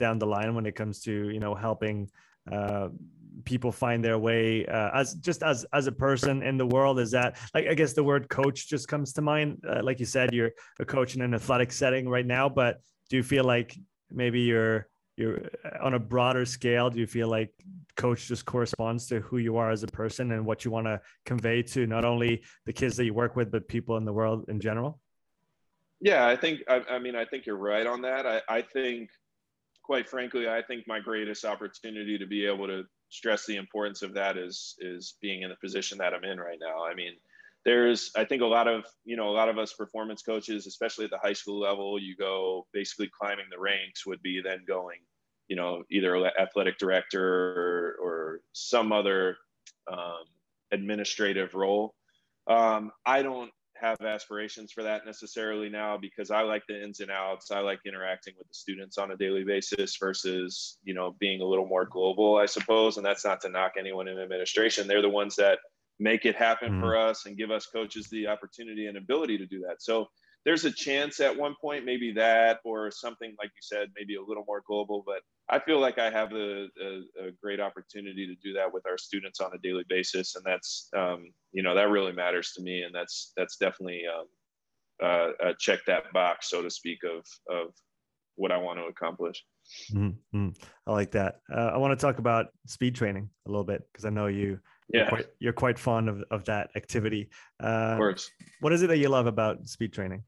down the line when it comes to, you know, helping uh, people find their way uh, as just as as a person in the world? Is that, like, I guess the word coach just comes to mind. Uh, like you said, you're a coach in an athletic setting right now, but do you feel like maybe you're you're on a broader scale? Do you feel like coach just corresponds to who you are as a person and what you want to convey to not only the kids that you work with, but people in the world in general? Yeah, I think, I, I mean, I think you're right on that. I, I think, quite frankly, I think my greatest opportunity to be able to stress the importance of that is, is being in the position that I'm in right now. I mean, there's, I think a lot of, you know, a lot of us performance coaches, especially at the high school level, you go basically climbing the ranks would be then going, you know, either athletic director or, or some other um, administrative role. Um, I don't have aspirations for that necessarily now, because I like the ins and outs. I like interacting with the students on a daily basis versus, you know, being a little more global, I suppose. And that's not to knock anyone in administration. They're the ones that make it happen mm-hmm. for us and give us coaches the opportunity and ability to do that. So there's a chance at one point, maybe that, or something like you said, maybe a little more global, but I feel like I have a, a, a great opportunity to do that with our students on a daily basis. And that's, um, you know, that really matters to me. And that's, that's definitely um, uh, uh, check that box, so to speak, of, of what I want to accomplish. Mm-hmm. I like that. Uh, I want to talk about speed training a little bit, because I know you, you're, yeah. quite, you're quite fond of, of that activity. Uh, of course. What is it that you love about speed training?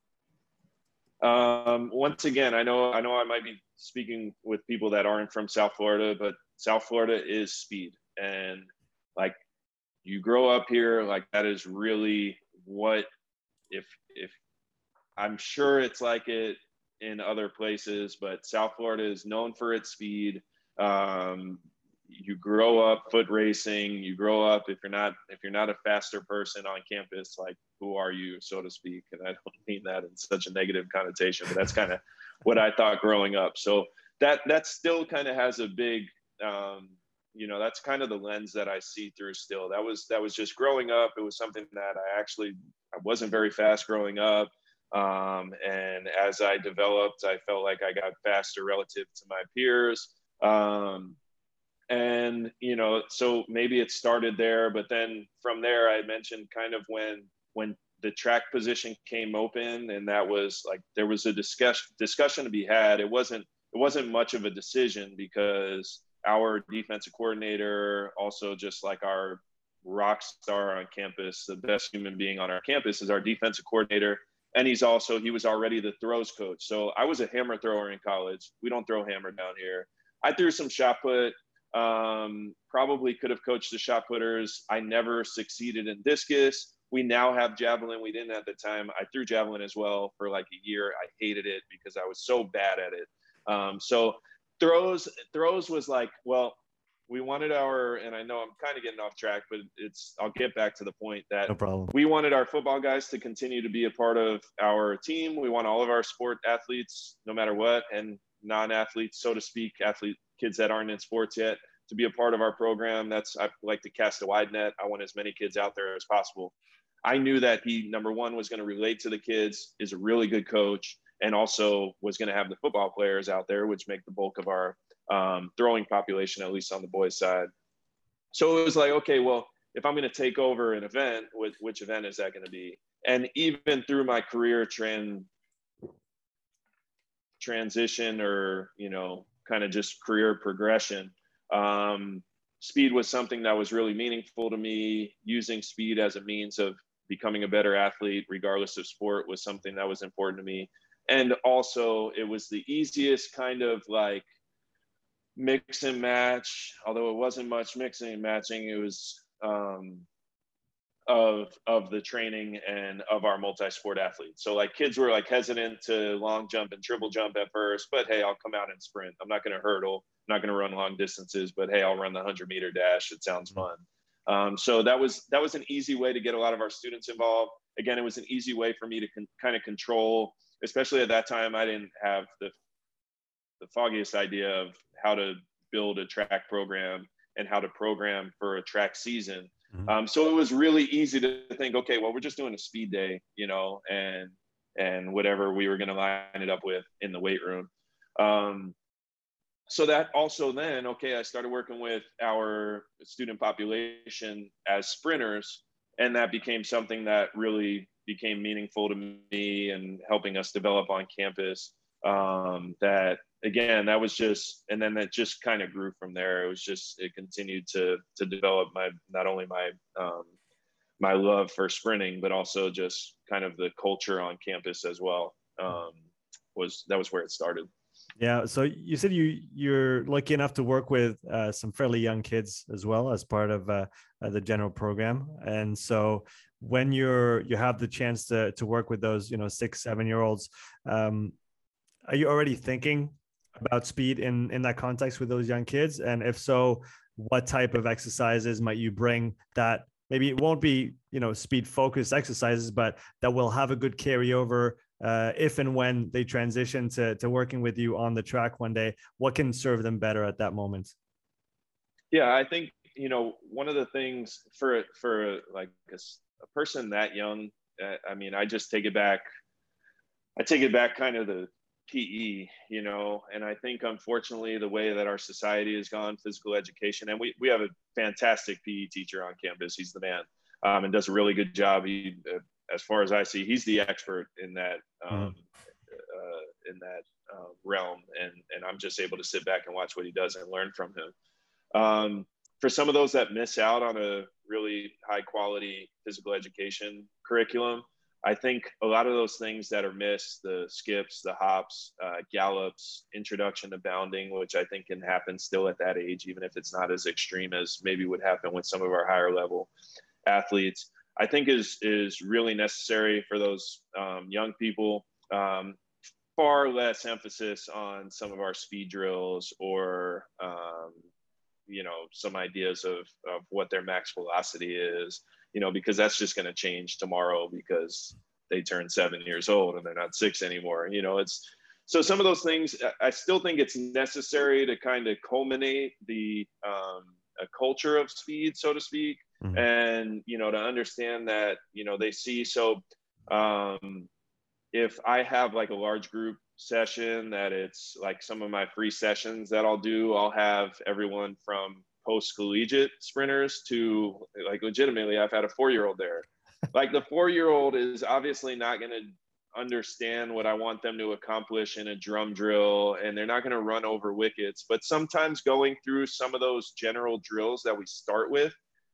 Um, once again, I know, I know I might be speaking with people that aren't from South Florida, but South Florida is speed. And like, you grow up here, like that is really what, if, if I'm sure it's like it in other places, but South Florida is known for its speed. Um, you grow up foot racing, you grow up, if you're not, if you're not a faster person on campus, like, who are you, so to speak? And I don't mean that in such a negative connotation, but that's kind of what I thought growing up. So that, that still kind of has a big, um, you know, that's kind of the lens that I see through still. That was, that was just growing up. It was something that I actually, I wasn't very fast growing up. Um, and as I developed, I felt like I got faster relative to my peers. Um, and, you know, so maybe it started there, but then from there, I mentioned kind of when, when the track position came open, and that was like, there was a discussion, discussion to be had. It wasn't, it wasn't much of a decision, because our defensive coordinator, also just like our rock star on campus, the best human being on our campus, is our defensive coordinator. And he's also, he was already the throws coach. So I was a hammer thrower in college. We don't throw hammer down here. I threw some shot put, um, probably could have coached the shot putters. I never succeeded in discus. We now have javelin. We didn't at the time. I threw javelin as well for like a year. I hated it because I was so bad at it. Um, so throws, throws was like, well, we wanted our, and I know I'm kind of getting off track, but it's, I'll get back to the point that no problem. We wanted our football guys to continue to be a part of our team. We want all of our sport athletes, no matter what, and non-athletes, so to speak, athlete kids that aren't in sports yet, to be a part of our program. That's, I like to cast a wide net. I want as many kids out there as possible. I knew that he, number one, was going to relate to the kids, is a really good coach, and also was going to have the football players out there, which make the bulk of our um, throwing population, at least on the boys' side. So it was like, okay, well, if I'm going to take over an event, which, which event is that going to be? And even through my career trend transition, or, you know, kind of just career progression, um, speed was something that was really meaningful to me. Using speed as a means of becoming a better athlete, regardless of sport, was something that was important to me. And also, it was the easiest kind of like mix and match, although it wasn't much mixing and matching. It was um, of of the training and of our multi-sport athletes. So like kids were like hesitant to long jump and triple jump at first, but hey, I'll come out and sprint. I'm not going to hurdle. I'm not going to run long distances, but hey, I'll run the hundred meter dash. It sounds fun. Um, so that was that was an easy way to get a lot of our students involved. Again, it was an easy way for me to con- kind of control, especially at that time. I didn't have the the foggiest idea of how to build a track program and how to program for a track season. Mm-hmm. Um, so it was really easy to think, okay, well, we're just doing a speed day, you know, and, and whatever we were going to line it up with in the weight room. Um, so that also then, okay, I started working with our student population as sprinters, and that became something that really became meaningful to me and helping us develop on campus. Um, that again, that was just, and then that just kind of grew from there. It was just, it continued to to develop my, not only my um, my love for sprinting, but also just kind of the culture on campus as well. Um, was that was where it started. Yeah. So you said you you're lucky enough to work with uh, some fairly young kids as well as part of uh, uh, the general program, and so when you're you have the chance to to work with those, you know, six seven year olds, um, are you already thinking about speed in in that context with those young kids? And if so, what type of exercises might you bring that maybe it won't be, you know, speed focused exercises, but that will have a good carryover uh, if and when they transition to, to working with you on the track one day? What can serve them better at that moment? Yeah, I think, you know, one of the things for, for like a, a person that young, uh, I mean, I just take it back. I take it back kind of the P E, you know, and I think unfortunately the way that our society has gone, physical education, and we, we have a fantastic P E teacher on campus. He's the man, um, and does a really good job. He, uh, as far as I see, he's the expert in that, um, mm-hmm. uh, in that uh, realm. And, and I'm just able to sit back and watch what he does and learn from him. Um, for some of those that miss out on a really high quality physical education curriculum, I think a lot of those things that are missed, the skips, the hops, uh, gallops, introduction to bounding, which I think can happen still at that age, even if it's not as extreme as maybe would happen with some of our higher level athletes, I think is, is really necessary for those um, young people. Um, far less emphasis on some of our speed drills or, um, you know, some ideas of, of what their max velocity is, you know, because that's just going to change tomorrow because they turn seven years old and they're not six anymore. You know, it's, so some of those things, I still think it's necessary to kind of culminate the um, a culture of speed, so to speak. Mm-hmm. And, you know, to understand that, you know, they see, so um, if I have like a large group session that it's like some of my free sessions that I'll do, I'll have everyone from post-collegiate sprinters to like legitimately I've had a four-year-old there. Like the four-year-old is obviously not going to understand what I want them to accomplish in a drum drill, and they're not going to run over wickets. But sometimes going through some of those general drills that we start with,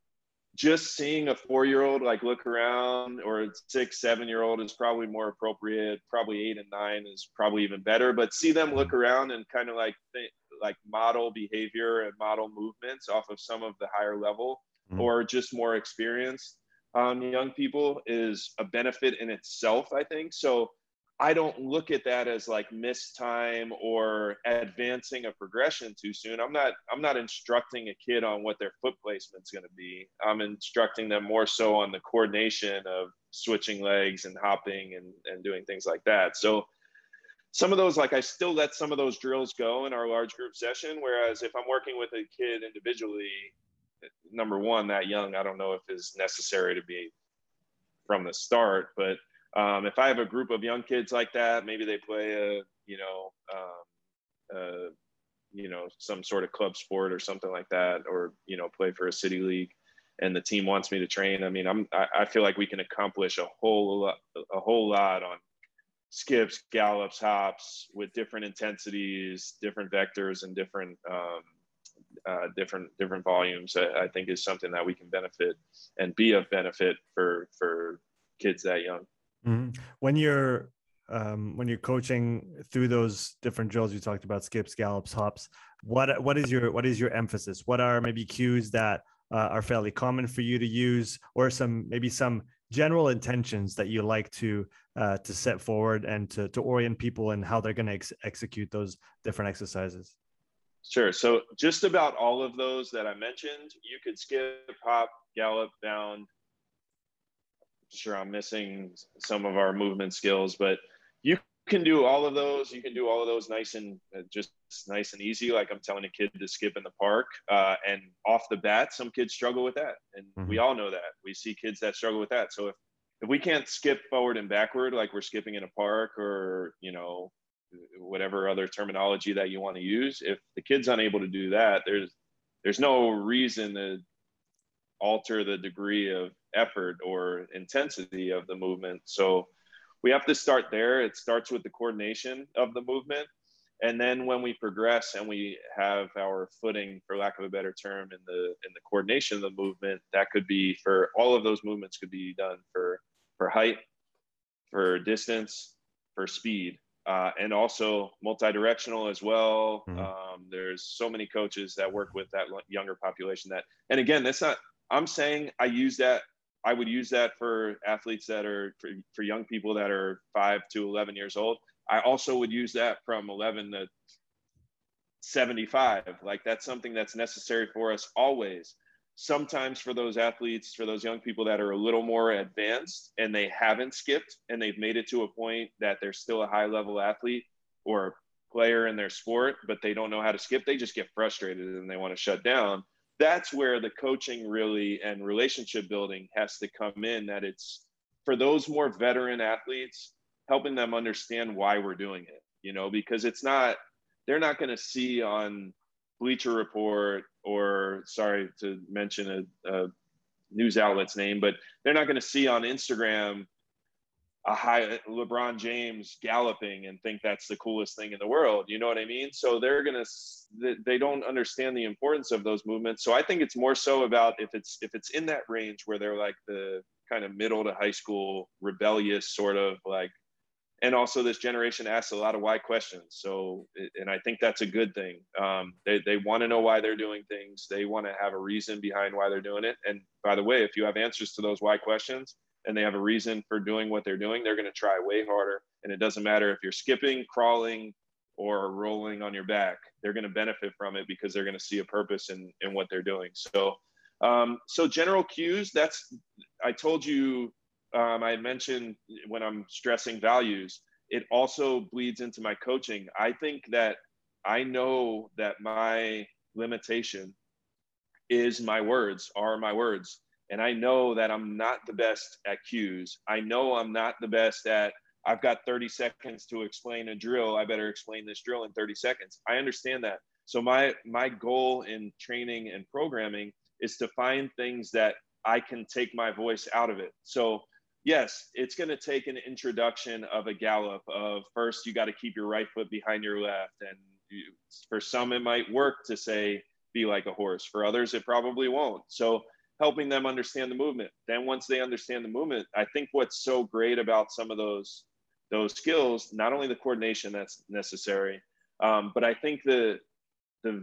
just seeing a four-year-old like look around, or a six, seven-year-old is probably more appropriate. Probably eight and nine is probably even better. But see them look around and kind of like think, like model behavior and model movements off of some of the higher level mm-hmm. or just more experienced um, young people is a benefit in itself, I think. So I don't look at that as like missed time or advancing a progression too soon. I'm not, I'm not instructing a kid on what their foot placement's going to be. I'm instructing them more so on the coordination of switching legs and hopping and, and doing things like that. So some of those, like I still let some of those drills go in our large group session. Whereas if I'm working with a kid individually, number one, that young, I don't know if is necessary to be from the start, but Um, if I have a group of young kids like that, maybe they play a, you know, um, uh, you know, some sort of club sport or something like that, or, you know, play for a city league and the team wants me to train. I mean, I'm, I, I feel like we can accomplish a whole lot, a whole lot on skips, gallops, hops with different intensities, different vectors and different, um, uh, different, different volumes. I, I think is something that we can benefit and be of benefit for, for kids that young. Mm-hmm. When you're um, when you're coaching through those different drills you talked about, skips, gallops, hops, what what is your what is your emphasis? What are maybe cues that uh, are fairly common for you to use, or some maybe some general intentions that you like to uh, to set forward and to to orient people in how they're going to ex- execute those different exercises? Sure. So just about all of those that I mentioned, you could skip, hop, gallop, bound. Sure, I'm missing some of our movement skills, but you can do all of those. You can do all of those nice and uh, just nice and easy. Like I'm telling a kid to skip in the park, uh, and off the bat, some kids struggle with that, and mm-hmm. we all know that. We see kids that struggle with that. So if if we can't skip forward and backward like we're skipping in a park, or you know, whatever other terminology that you want to use. If the kid's unable to do that, there's there's no reason to alter the degree of effort or intensity of the movement. So we have to start there. It starts with the coordination of the movement. And then when we progress and we have our footing, for lack of a better term, in the in the coordination of the movement, that could be for all of those movements could be done for for height, for distance, for speed, uh, and also multi-directional as well. Mm-hmm. Um, there's so many coaches that work with that younger population that, and again, that's not, I'm saying I use that, I would use that for athletes that are, for, for young people that are five to eleven years old. I also would use that from eleven to seventy-five. Like that's something that's necessary for us always. Sometimes for those athletes, for those young people that are a little more advanced and they haven't skipped and they've made it to a point that they're still a high level athlete or player in their sport, but they don't know how to skip, they just get frustrated and they want to shut down. That's where the coaching really and relationship building has to come in, that it's for those more veteran athletes, helping them understand why we're doing it, you know, because it's not, they're not going to see on Bleacher Report or, sorry to mention a, a news outlet's name, but they're not going to see on Instagram a high LeBron James galloping and think that's the coolest thing in the world. You know what I mean? So they're going to, they don't understand the importance of those movements. So I think it's more so about if it's, if it's in that range where they're like the kind of middle to high school, rebellious sort of like, and also this generation asks a lot of why questions. So, and I think that's a good thing. Um, they they want to know why they're doing things. They want to have a reason behind why they're doing it. And by the way, if you have answers to those why questions and they have a reason for doing what they're doing, they're going to try way harder. And it doesn't matter if you're skipping, crawling, or rolling on your back, they're going to benefit from it because they're going to see a purpose in, in what they're doing. So, um, so general cues, that's, I told you, Um, I mentioned when I'm stressing values, it also bleeds into my coaching. I think that I know that my limitation is my words, are my words. And I know that I'm not the best at cues. I know I'm not the best at, I've got thirty seconds to explain a drill. I better explain this drill in thirty seconds. I understand that. So my, my goal in training and programming is to find things that I can take my voice out of it. So yes, it's going to take an introduction of a gallop of first, you got to keep your right foot behind your left. And you, for some, it might work to say, be like a horse. For others, it probably won't. So helping them understand the movement. Then once they understand the movement, I think what's so great about some of those, those skills, not only the coordination that's necessary, um, but I think the, the,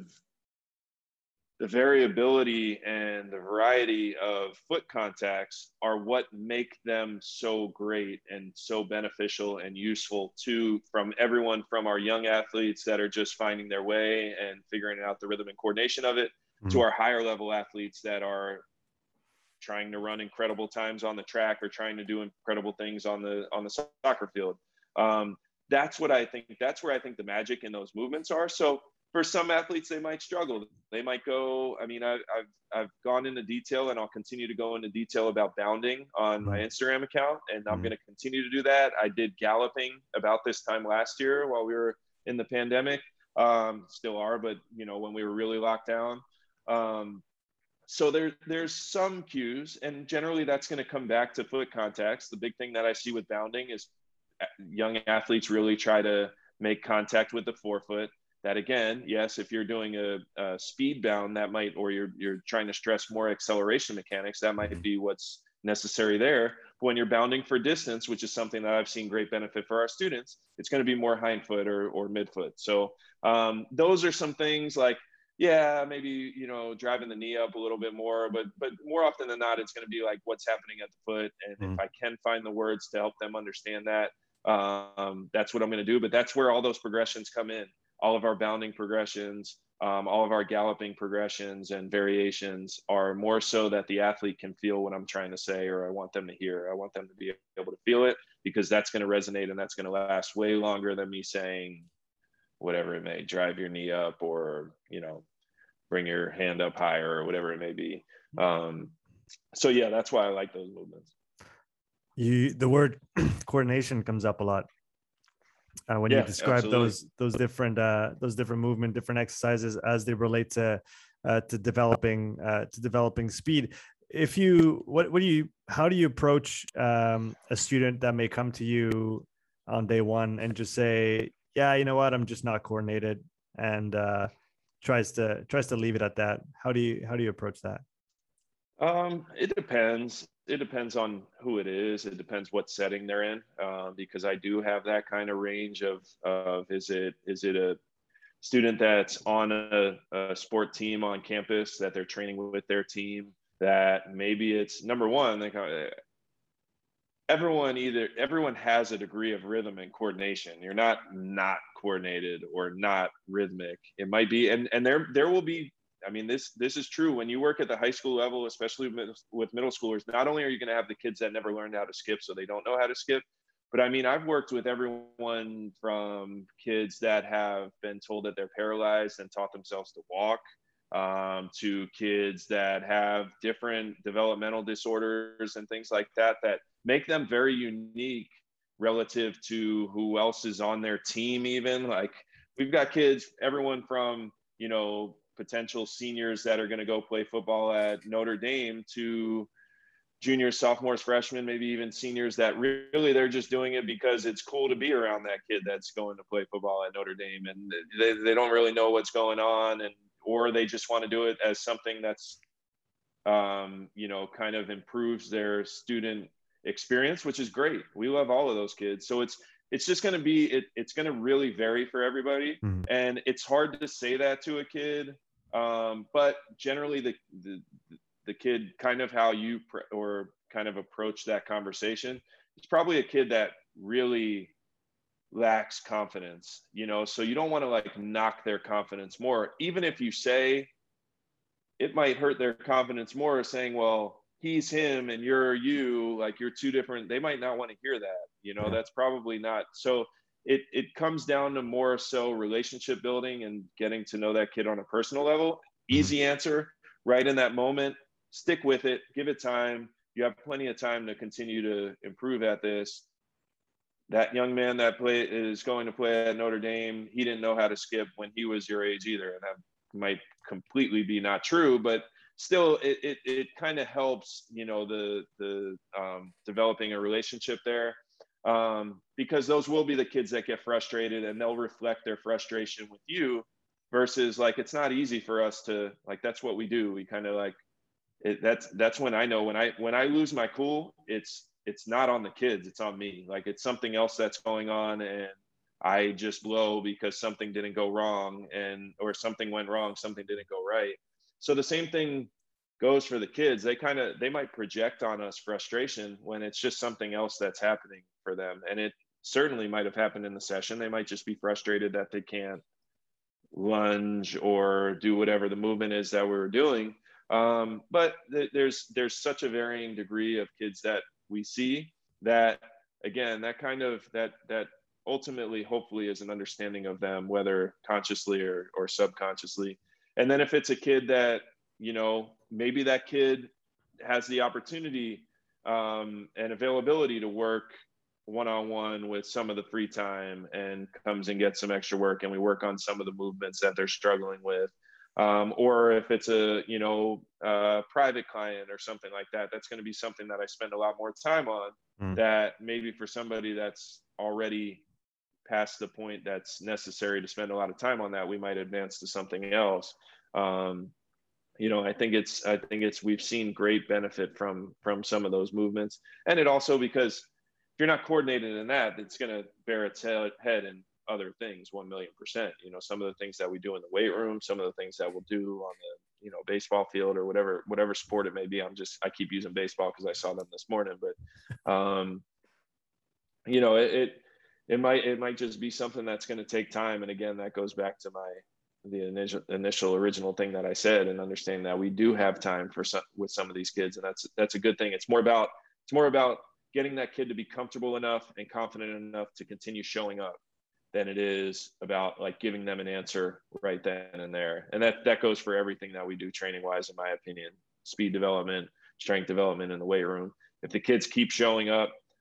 the variability and the variety of foot contacts are what make them so great and so beneficial and useful to, from everyone from our young athletes that are just finding their way and figuring out the rhythm and coordination of it, mm-hmm. to our higher level athletes that are trying to run incredible times on the track or trying to do incredible things on the, on the soccer field. Um, that's what I think, that's where I think the magic in those movements are. So for some athletes, they might struggle. They might go, I mean, I, I've, I've gone into detail and I'll continue to go into detail about bounding on my Instagram account. And I'm mm-hmm. going to continue to do that. I did galloping about this time last year while we were in the pandemic, um, still are, but you know, when we were really locked down. Um, so there, there's some cues, and generally that's going to come back to foot contacts. The big thing that I see with bounding is young athletes really try to make contact with the forefoot. That again, yes, if you're doing a, a speed bound, that might, or you're you're trying to stress more acceleration mechanics, that might be what's necessary there. But when you're bounding for distance, which is something that I've seen great benefit for our students, it's going to be more hindfoot or or midfoot. So um, those are some things like, yeah, maybe, you know, driving the knee up a little bit more, but but more often than not, it's going to be like what's happening at the foot. And mm. if I can find the words to help them understand that, um, that's what I'm going to do. But that's where all those progressions come in. All of our bounding progressions, um, all of our galloping progressions and variations are more so that the athlete can feel what I'm trying to say, or I want them to hear. I want them to be able to feel it, because that's going to resonate and that's going to last way longer than me saying whatever it may, drive your knee up, or, you know, bring your hand up higher, or whatever it may be. Um, so yeah, that's why I like those movements. You, the word coordination comes up a lot. uh, when you Yeah, describe absolutely. those those different uh, those different movement, different exercises as they relate to uh, to developing uh, to developing speed. If you what what do you how do you approach um, a student that may come to you on day one and just say, yeah, you know what, I'm just not coordinated, and uh, tries to tries to leave it at that? How do you how do you approach that? Um, it depends. It depends on who it is. It depends what setting they're in, uh, because I do have that kind of range of of is it is it a student that's on a, a sport team on campus that they're training with their team, that maybe it's number one, like uh, everyone either everyone has a degree of rhythm and coordination. You're not not coordinated or not rhythmic. It might be, and and there there will be. I mean, this this is true when you work at the high school level, especially with middle schoolers. Not only are you going to have the kids that never learned how to skip, so they don't know how to skip, but I mean, I've worked with everyone from kids that have been told that they're paralyzed and taught themselves to walk, um, to kids that have different developmental disorders and things like that, that make them very unique relative to who else is on their team. Even like we've got kids, everyone from, you know, potential seniors that are going to go play football at Notre Dame to juniors, sophomores, freshmen, maybe even seniors that really they're just doing it because it's cool to be around that kid that's going to play football at Notre Dame, and they, they don't really know what's going on, and or they just want to do it as something that's um, you know, kind of improves their student experience, which is great. We love all of those kids. So it's it's just going to be it, it's going to really vary for everybody, Mm-hmm. and it's hard to say that to a kid, um, but generally the, the the kid, kind of how you pr- or kind of approach that conversation, it's probably a kid that really lacks confidence, you know, so you don't want to like knock their confidence more, even if you say it might hurt their confidence more saying, well, he's him and you're you, like you're two different. They might not want to hear that, you know. Yeah. That's probably not. So it it comes down to more so relationship building and getting to know that kid on a personal level. Easy Mm-hmm. answer, right in that moment. Stick with it, give it time. You have plenty of time to continue to improve at this. That young man that play is going to play at Notre Dame, he didn't know how to skip when he was your age either, and that might completely be not true, but still, it it, it kind of helps, you know, the the um, developing a relationship there, um, because those will be the kids that get frustrated, and they'll reflect their frustration with you. Versus, like, it's not easy for us to, like, that's what we do. We kind of like it, that's that's when I know when I when I lose my cool, it's it's not on the kids, it's on me. Like it's something else that's going on, and I just blow because something didn't go wrong, and or something went wrong, something didn't go right. So the same thing goes for the kids. They kind of they might project on us frustration when it's just something else that's happening for them, and it certainly might have happened in the session. They might just be frustrated that they can't lunge or do whatever the movement is that we were doing. Um, but th- there's there's such a varying degree of kids that we see that, again, that kind of that that ultimately hopefully is an understanding of them, whether consciously or, or subconsciously. And then if it's a kid that, you know, maybe that kid has the opportunity um, and availability to work one-on-one with some of the free time and comes and gets some extra work, and we work on some of the movements that they're struggling with, um, or if it's a, you know, uh, private client or something like that, that's going to be something that I spend a lot more time on, Mm. that maybe for somebody that's already past the point that's necessary to spend a lot of time on that, we might advance to something else. um, you know, I think it's I think it's we've seen great benefit from from some of those movements, and it also, because if you're not coordinated in that, it's going to bear its head in other things, one million percent. You know, some of the things that we do in the weight room, some of the things that we'll do on the, you know, baseball field or whatever whatever sport it may be. I'm just I keep using baseball because I saw them this morning, but um, you know, it, it it might it might just be something that's going to take time, and again, that goes back to my the initial initial original thing that I said, and understanding that we do have time for some with some of these kids, and that's that's a good thing. It's more about it's more about getting that kid to be comfortable enough and confident enough to continue showing up than it is about like giving them an answer right then and there. And that that goes for everything that we do training wise, in my opinion. Speed development, strength development in the weight room. If the kids keep showing up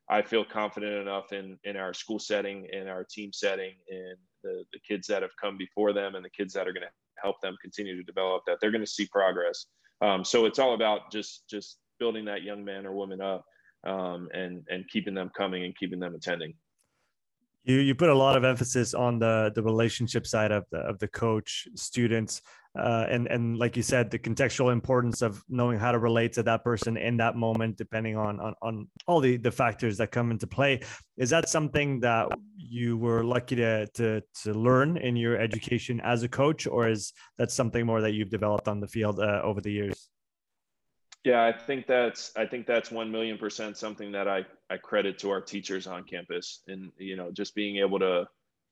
I feel confident enough in in our school setting, in our team setting, in the the kids that have come before them, and the kids that are going to help them continue to develop, that they're going to see progress. Um, so it's all about just just building that young man or woman up, um, and and keeping them coming and keeping them attending. You you put a lot of emphasis on the the relationship side of the of the coach students, uh, and and like you said, the contextual importance of knowing how to relate to that person in that moment, depending on on on all the the factors that come into play. Is that something that you were lucky to to to learn in your education as a coach, or is that something more that you've developed on the field uh, over the years? Yeah, I think that's I think that's one million percent something that I I credit to our teachers on campus, and you know, just being able to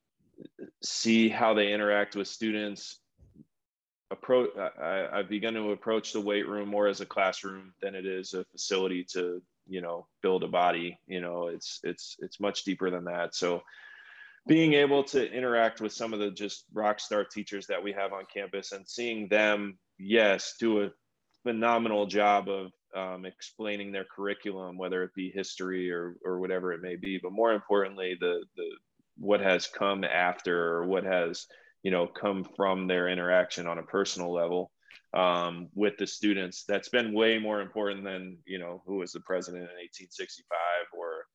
see how they interact with students. Approach I, I've begun to approach the weight room more as a classroom than it is a facility to, you know, build a body. You know, it's it's it's much deeper than that. So being able to interact with some of the just rock star teachers that we have on campus and seeing them, yes, do a phenomenal job of um, explaining their curriculum, whether it be history or or whatever it may be. But more importantly, the the what has come after, or what has, you know, come from their interaction on a personal level um, with the students. That's been way more important than, you know, who was the president in eighteen sixty-five, or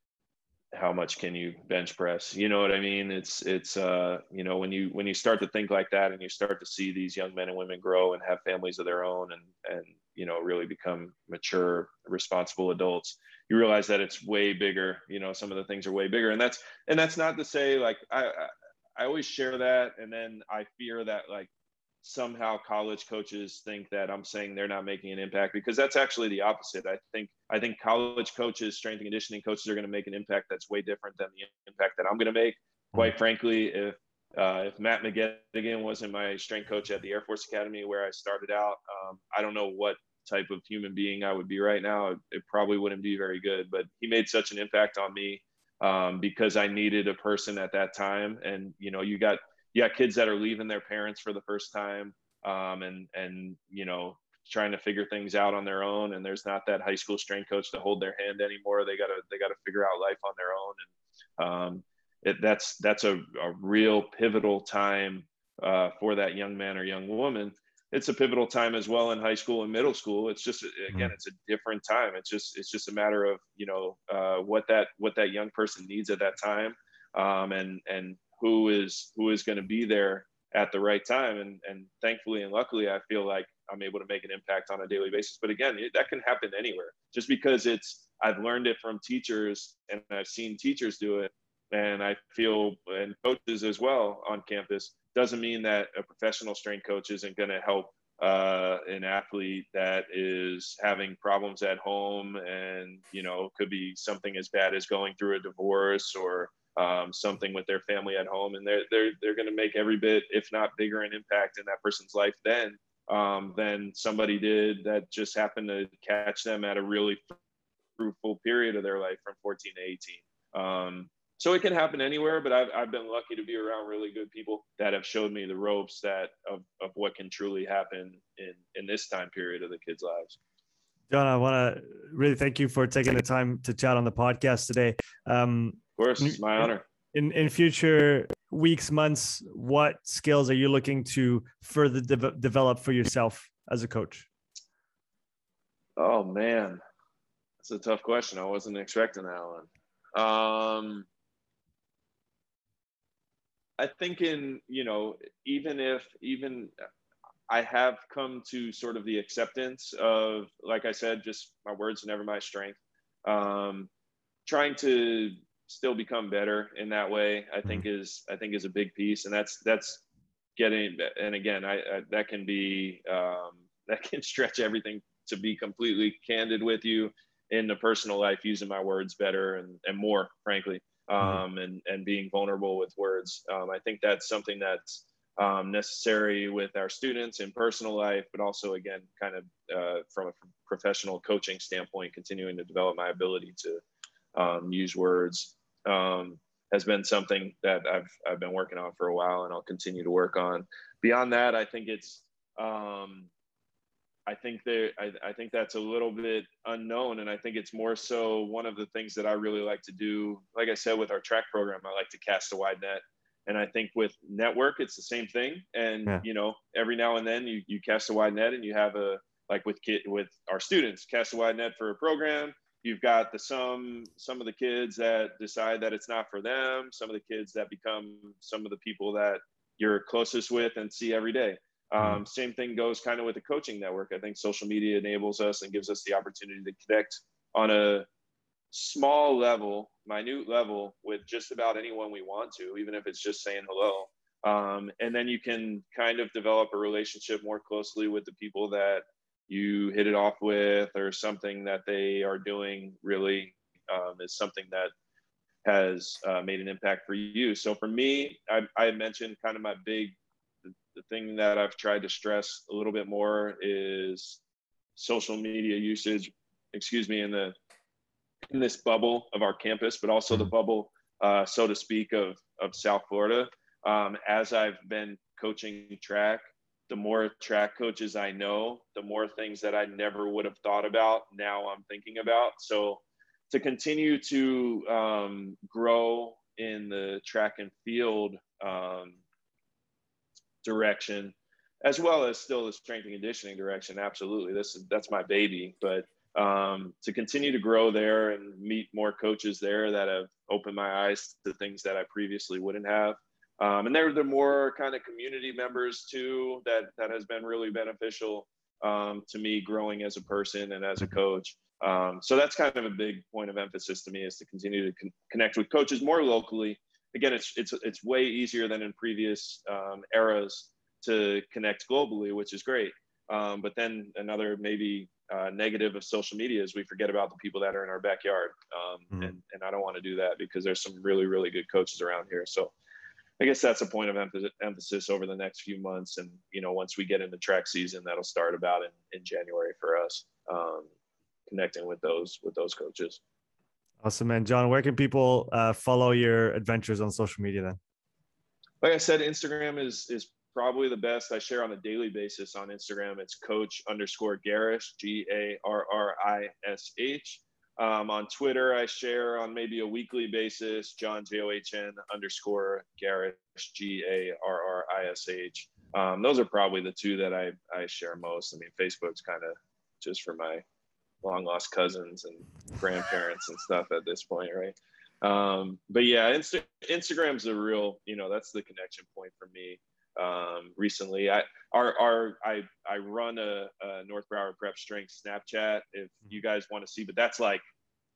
how much can you bench press? You know what I mean? It's, it's, uh, you know, when you, when you start to think like that, and you start to see these young men and women grow and have families of their own, and, and, you know, really become mature, responsible adults, you realize that it's way bigger. You know, some of the things are way bigger, and that's, and that's not to say, like, I, I, I always share that. And then I fear that, like, somehow college coaches think that I'm saying they're not making an impact, because that's actually the opposite. I think I think college coaches, strength and conditioning coaches, are going to make an impact that's way different than the impact that I'm going to make. Quite frankly, if uh, if Matt McGettigan wasn't my strength coach at the Air Force Academy where I started out, um, I don't know what type of human being I would be right now. It, it probably wouldn't be very good. But he made such an impact on me um, because I needed a person at that time. And you know, you got you got kids that are leaving their parents for the first time, um, and and you know, trying to figure things out on their own. And there's not that high school strength coach to hold their hand anymore. They gotta they gotta figure out life on their own. And um, it, that's that's a, a real pivotal time uh, for that young man or young woman. It's a pivotal time as well in high school and middle school. It's just, again, it's a different time. It's just it's just a matter of, you know, uh, what that what that young person needs at that time, um, and and who is who is going to be there at the right time. And and thankfully and luckily, I feel like I'm able to make an impact on a daily basis. But again, it, that can happen anywhere. Just because it's I've learned it from teachers and I've seen teachers do it, and I feel, and coaches as well on campus, doesn't mean that a professional strength coach isn't going to help uh, an athlete that is having problems at home, and you know, could be something as bad as going through a divorce, or um, something with their family at home, and they're they're they're going to make every bit, if not bigger, an impact in that person's life then um, than somebody did that just happened to catch them at a really fruitful period of their life from fourteen to eighteen. Um, so it can happen anywhere, but I've I've been lucky to be around really good people that have showed me the ropes that of of what can truly happen in in this time period of the kids' lives. John, I want to really thank you for taking the time to chat on the podcast today. Um, of course, it's my honor. In in future weeks, months, what skills are you looking to further de- develop for yourself as a coach? Oh man, that's a tough question. I wasn't expecting that one. Um, I think in, you know, even if, even I have come to sort of the acceptance of, like I said, just my words are never my strength. Um, trying to still become better in that way, I think mm-hmm. is, I think is a big piece. And that's, that's getting, and again, I, I that can be, um, that can stretch everything, to be completely candid with you, in the personal life, using my words better and, and more, frankly. Um, mm-hmm. and, and being vulnerable with words. Um, I think that's something that's um, necessary with our students in personal life, but also, again, kind of uh, from a professional coaching standpoint, continuing to develop my ability to um, use words um, has been something that I've, I've been working on for a while, and I'll continue to work on. Beyond that, I think it's, um, I think there, I, I think that's a little bit unknown. And I think it's more so one of the things that I really like to do. Like I said, with our track program, I like to cast a wide net. And I think with network, it's the same thing. And, Yeah. you know, every now and then you, you cast a wide net and you have a, like with kid, with our students, cast a wide net for a program. You've got the, some, some of the kids that decide that it's not for them. Some of the kids that become some of the people that you're closest with and see every day. Um, same thing goes kind of with the coaching network. I think social media enables us and gives us the opportunity to connect on a small level, minute level with just about anyone we want to, even if it's just saying hello. Um, and then you can kind of develop a relationship more closely with the people that you hit it off with, or something that they are doing really um, is something that has uh, made an impact for you. So for me, I, I mentioned kind of my big, the thing that I've tried to stress a little bit more is social media usage, excuse me, in the, in this bubble of our campus, but also the bubble, uh, so to speak, of, of South Florida. Um, as I've been coaching track, the more track coaches I know, the more things that I never would have thought about, now I'm thinking about. So to continue to um, grow in the track and field um, direction, as well as still the strength and conditioning direction. Absolutely. This is, that's my baby, but um, to continue to grow there and meet more coaches there that have opened my eyes to things that I previously wouldn't have. Um, and there, there are more kind of community members too, that, that has been really beneficial um, to me growing as a person and as a coach. Um, so that's kind of a big point of emphasis to me, is to continue to con- connect with coaches more locally. Again, it's it's it's way easier than in previous um, eras to connect globally, which is great. Um, but then another maybe uh, negative of social media is we forget about the people that are in our backyard. Um, mm-hmm. and, and I don't want to do that, because there's some really, really good coaches around here. So I guess that's a point of emphasis, emphasis over the next few months. And, you know, once we get into track season, that'll start about in, in January for us, um, connecting with those, with those coaches. Awesome, man. John, where can people uh, follow your adventures on social media then? Like I said, Instagram is is probably the best. I share on a daily basis on Instagram. It's coach underscore Garrish, G A R R I S H. Um, on Twitter, I share on maybe a weekly basis, John, J O H N underscore Garrish, G A R R I S H. Um, those are probably the two that I, I share most. I mean, Facebook's kind of just for my long lost cousins and grandparents and stuff at this point, right? Um, but yeah, Insta- Instagram's a real, you know, that's the connection point for me. Um, recently, I our our I I run a, a North Broward Prep Strength Snapchat if you guys want to see, but that's like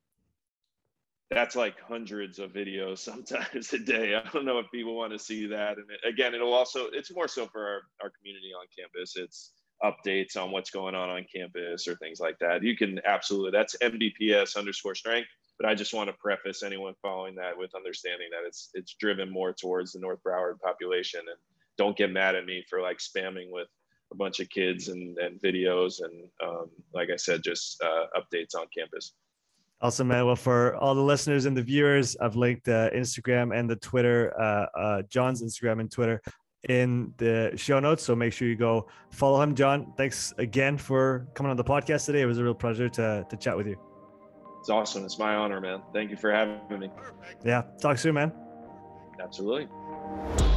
that's like hundreds of videos sometimes a day. I don't know if people want to see that. And it, again, it'll also, it's more so for our, our community on campus. It's updates on what's going on on campus or things like that. You can absolutely, that's M B P S underscore strength. But I just want to preface anyone following that with understanding that it's it's driven more towards the North Broward population. And don't get mad at me for like spamming with a bunch of kids and, and videos and um, like I said, just uh, updates on campus. Awesome, man. Well, for all the listeners and the viewers, I've linked the Instagram and the Twitter, uh, uh, John's Instagram and Twitter in the show notes. So make sure you go follow him. John, thanks again for coming on the podcast today. It was a real pleasure to to chat with you. It's awesome. It's my honor, man. Thank you for having me. Yeah. Talk soon, man. Absolutely.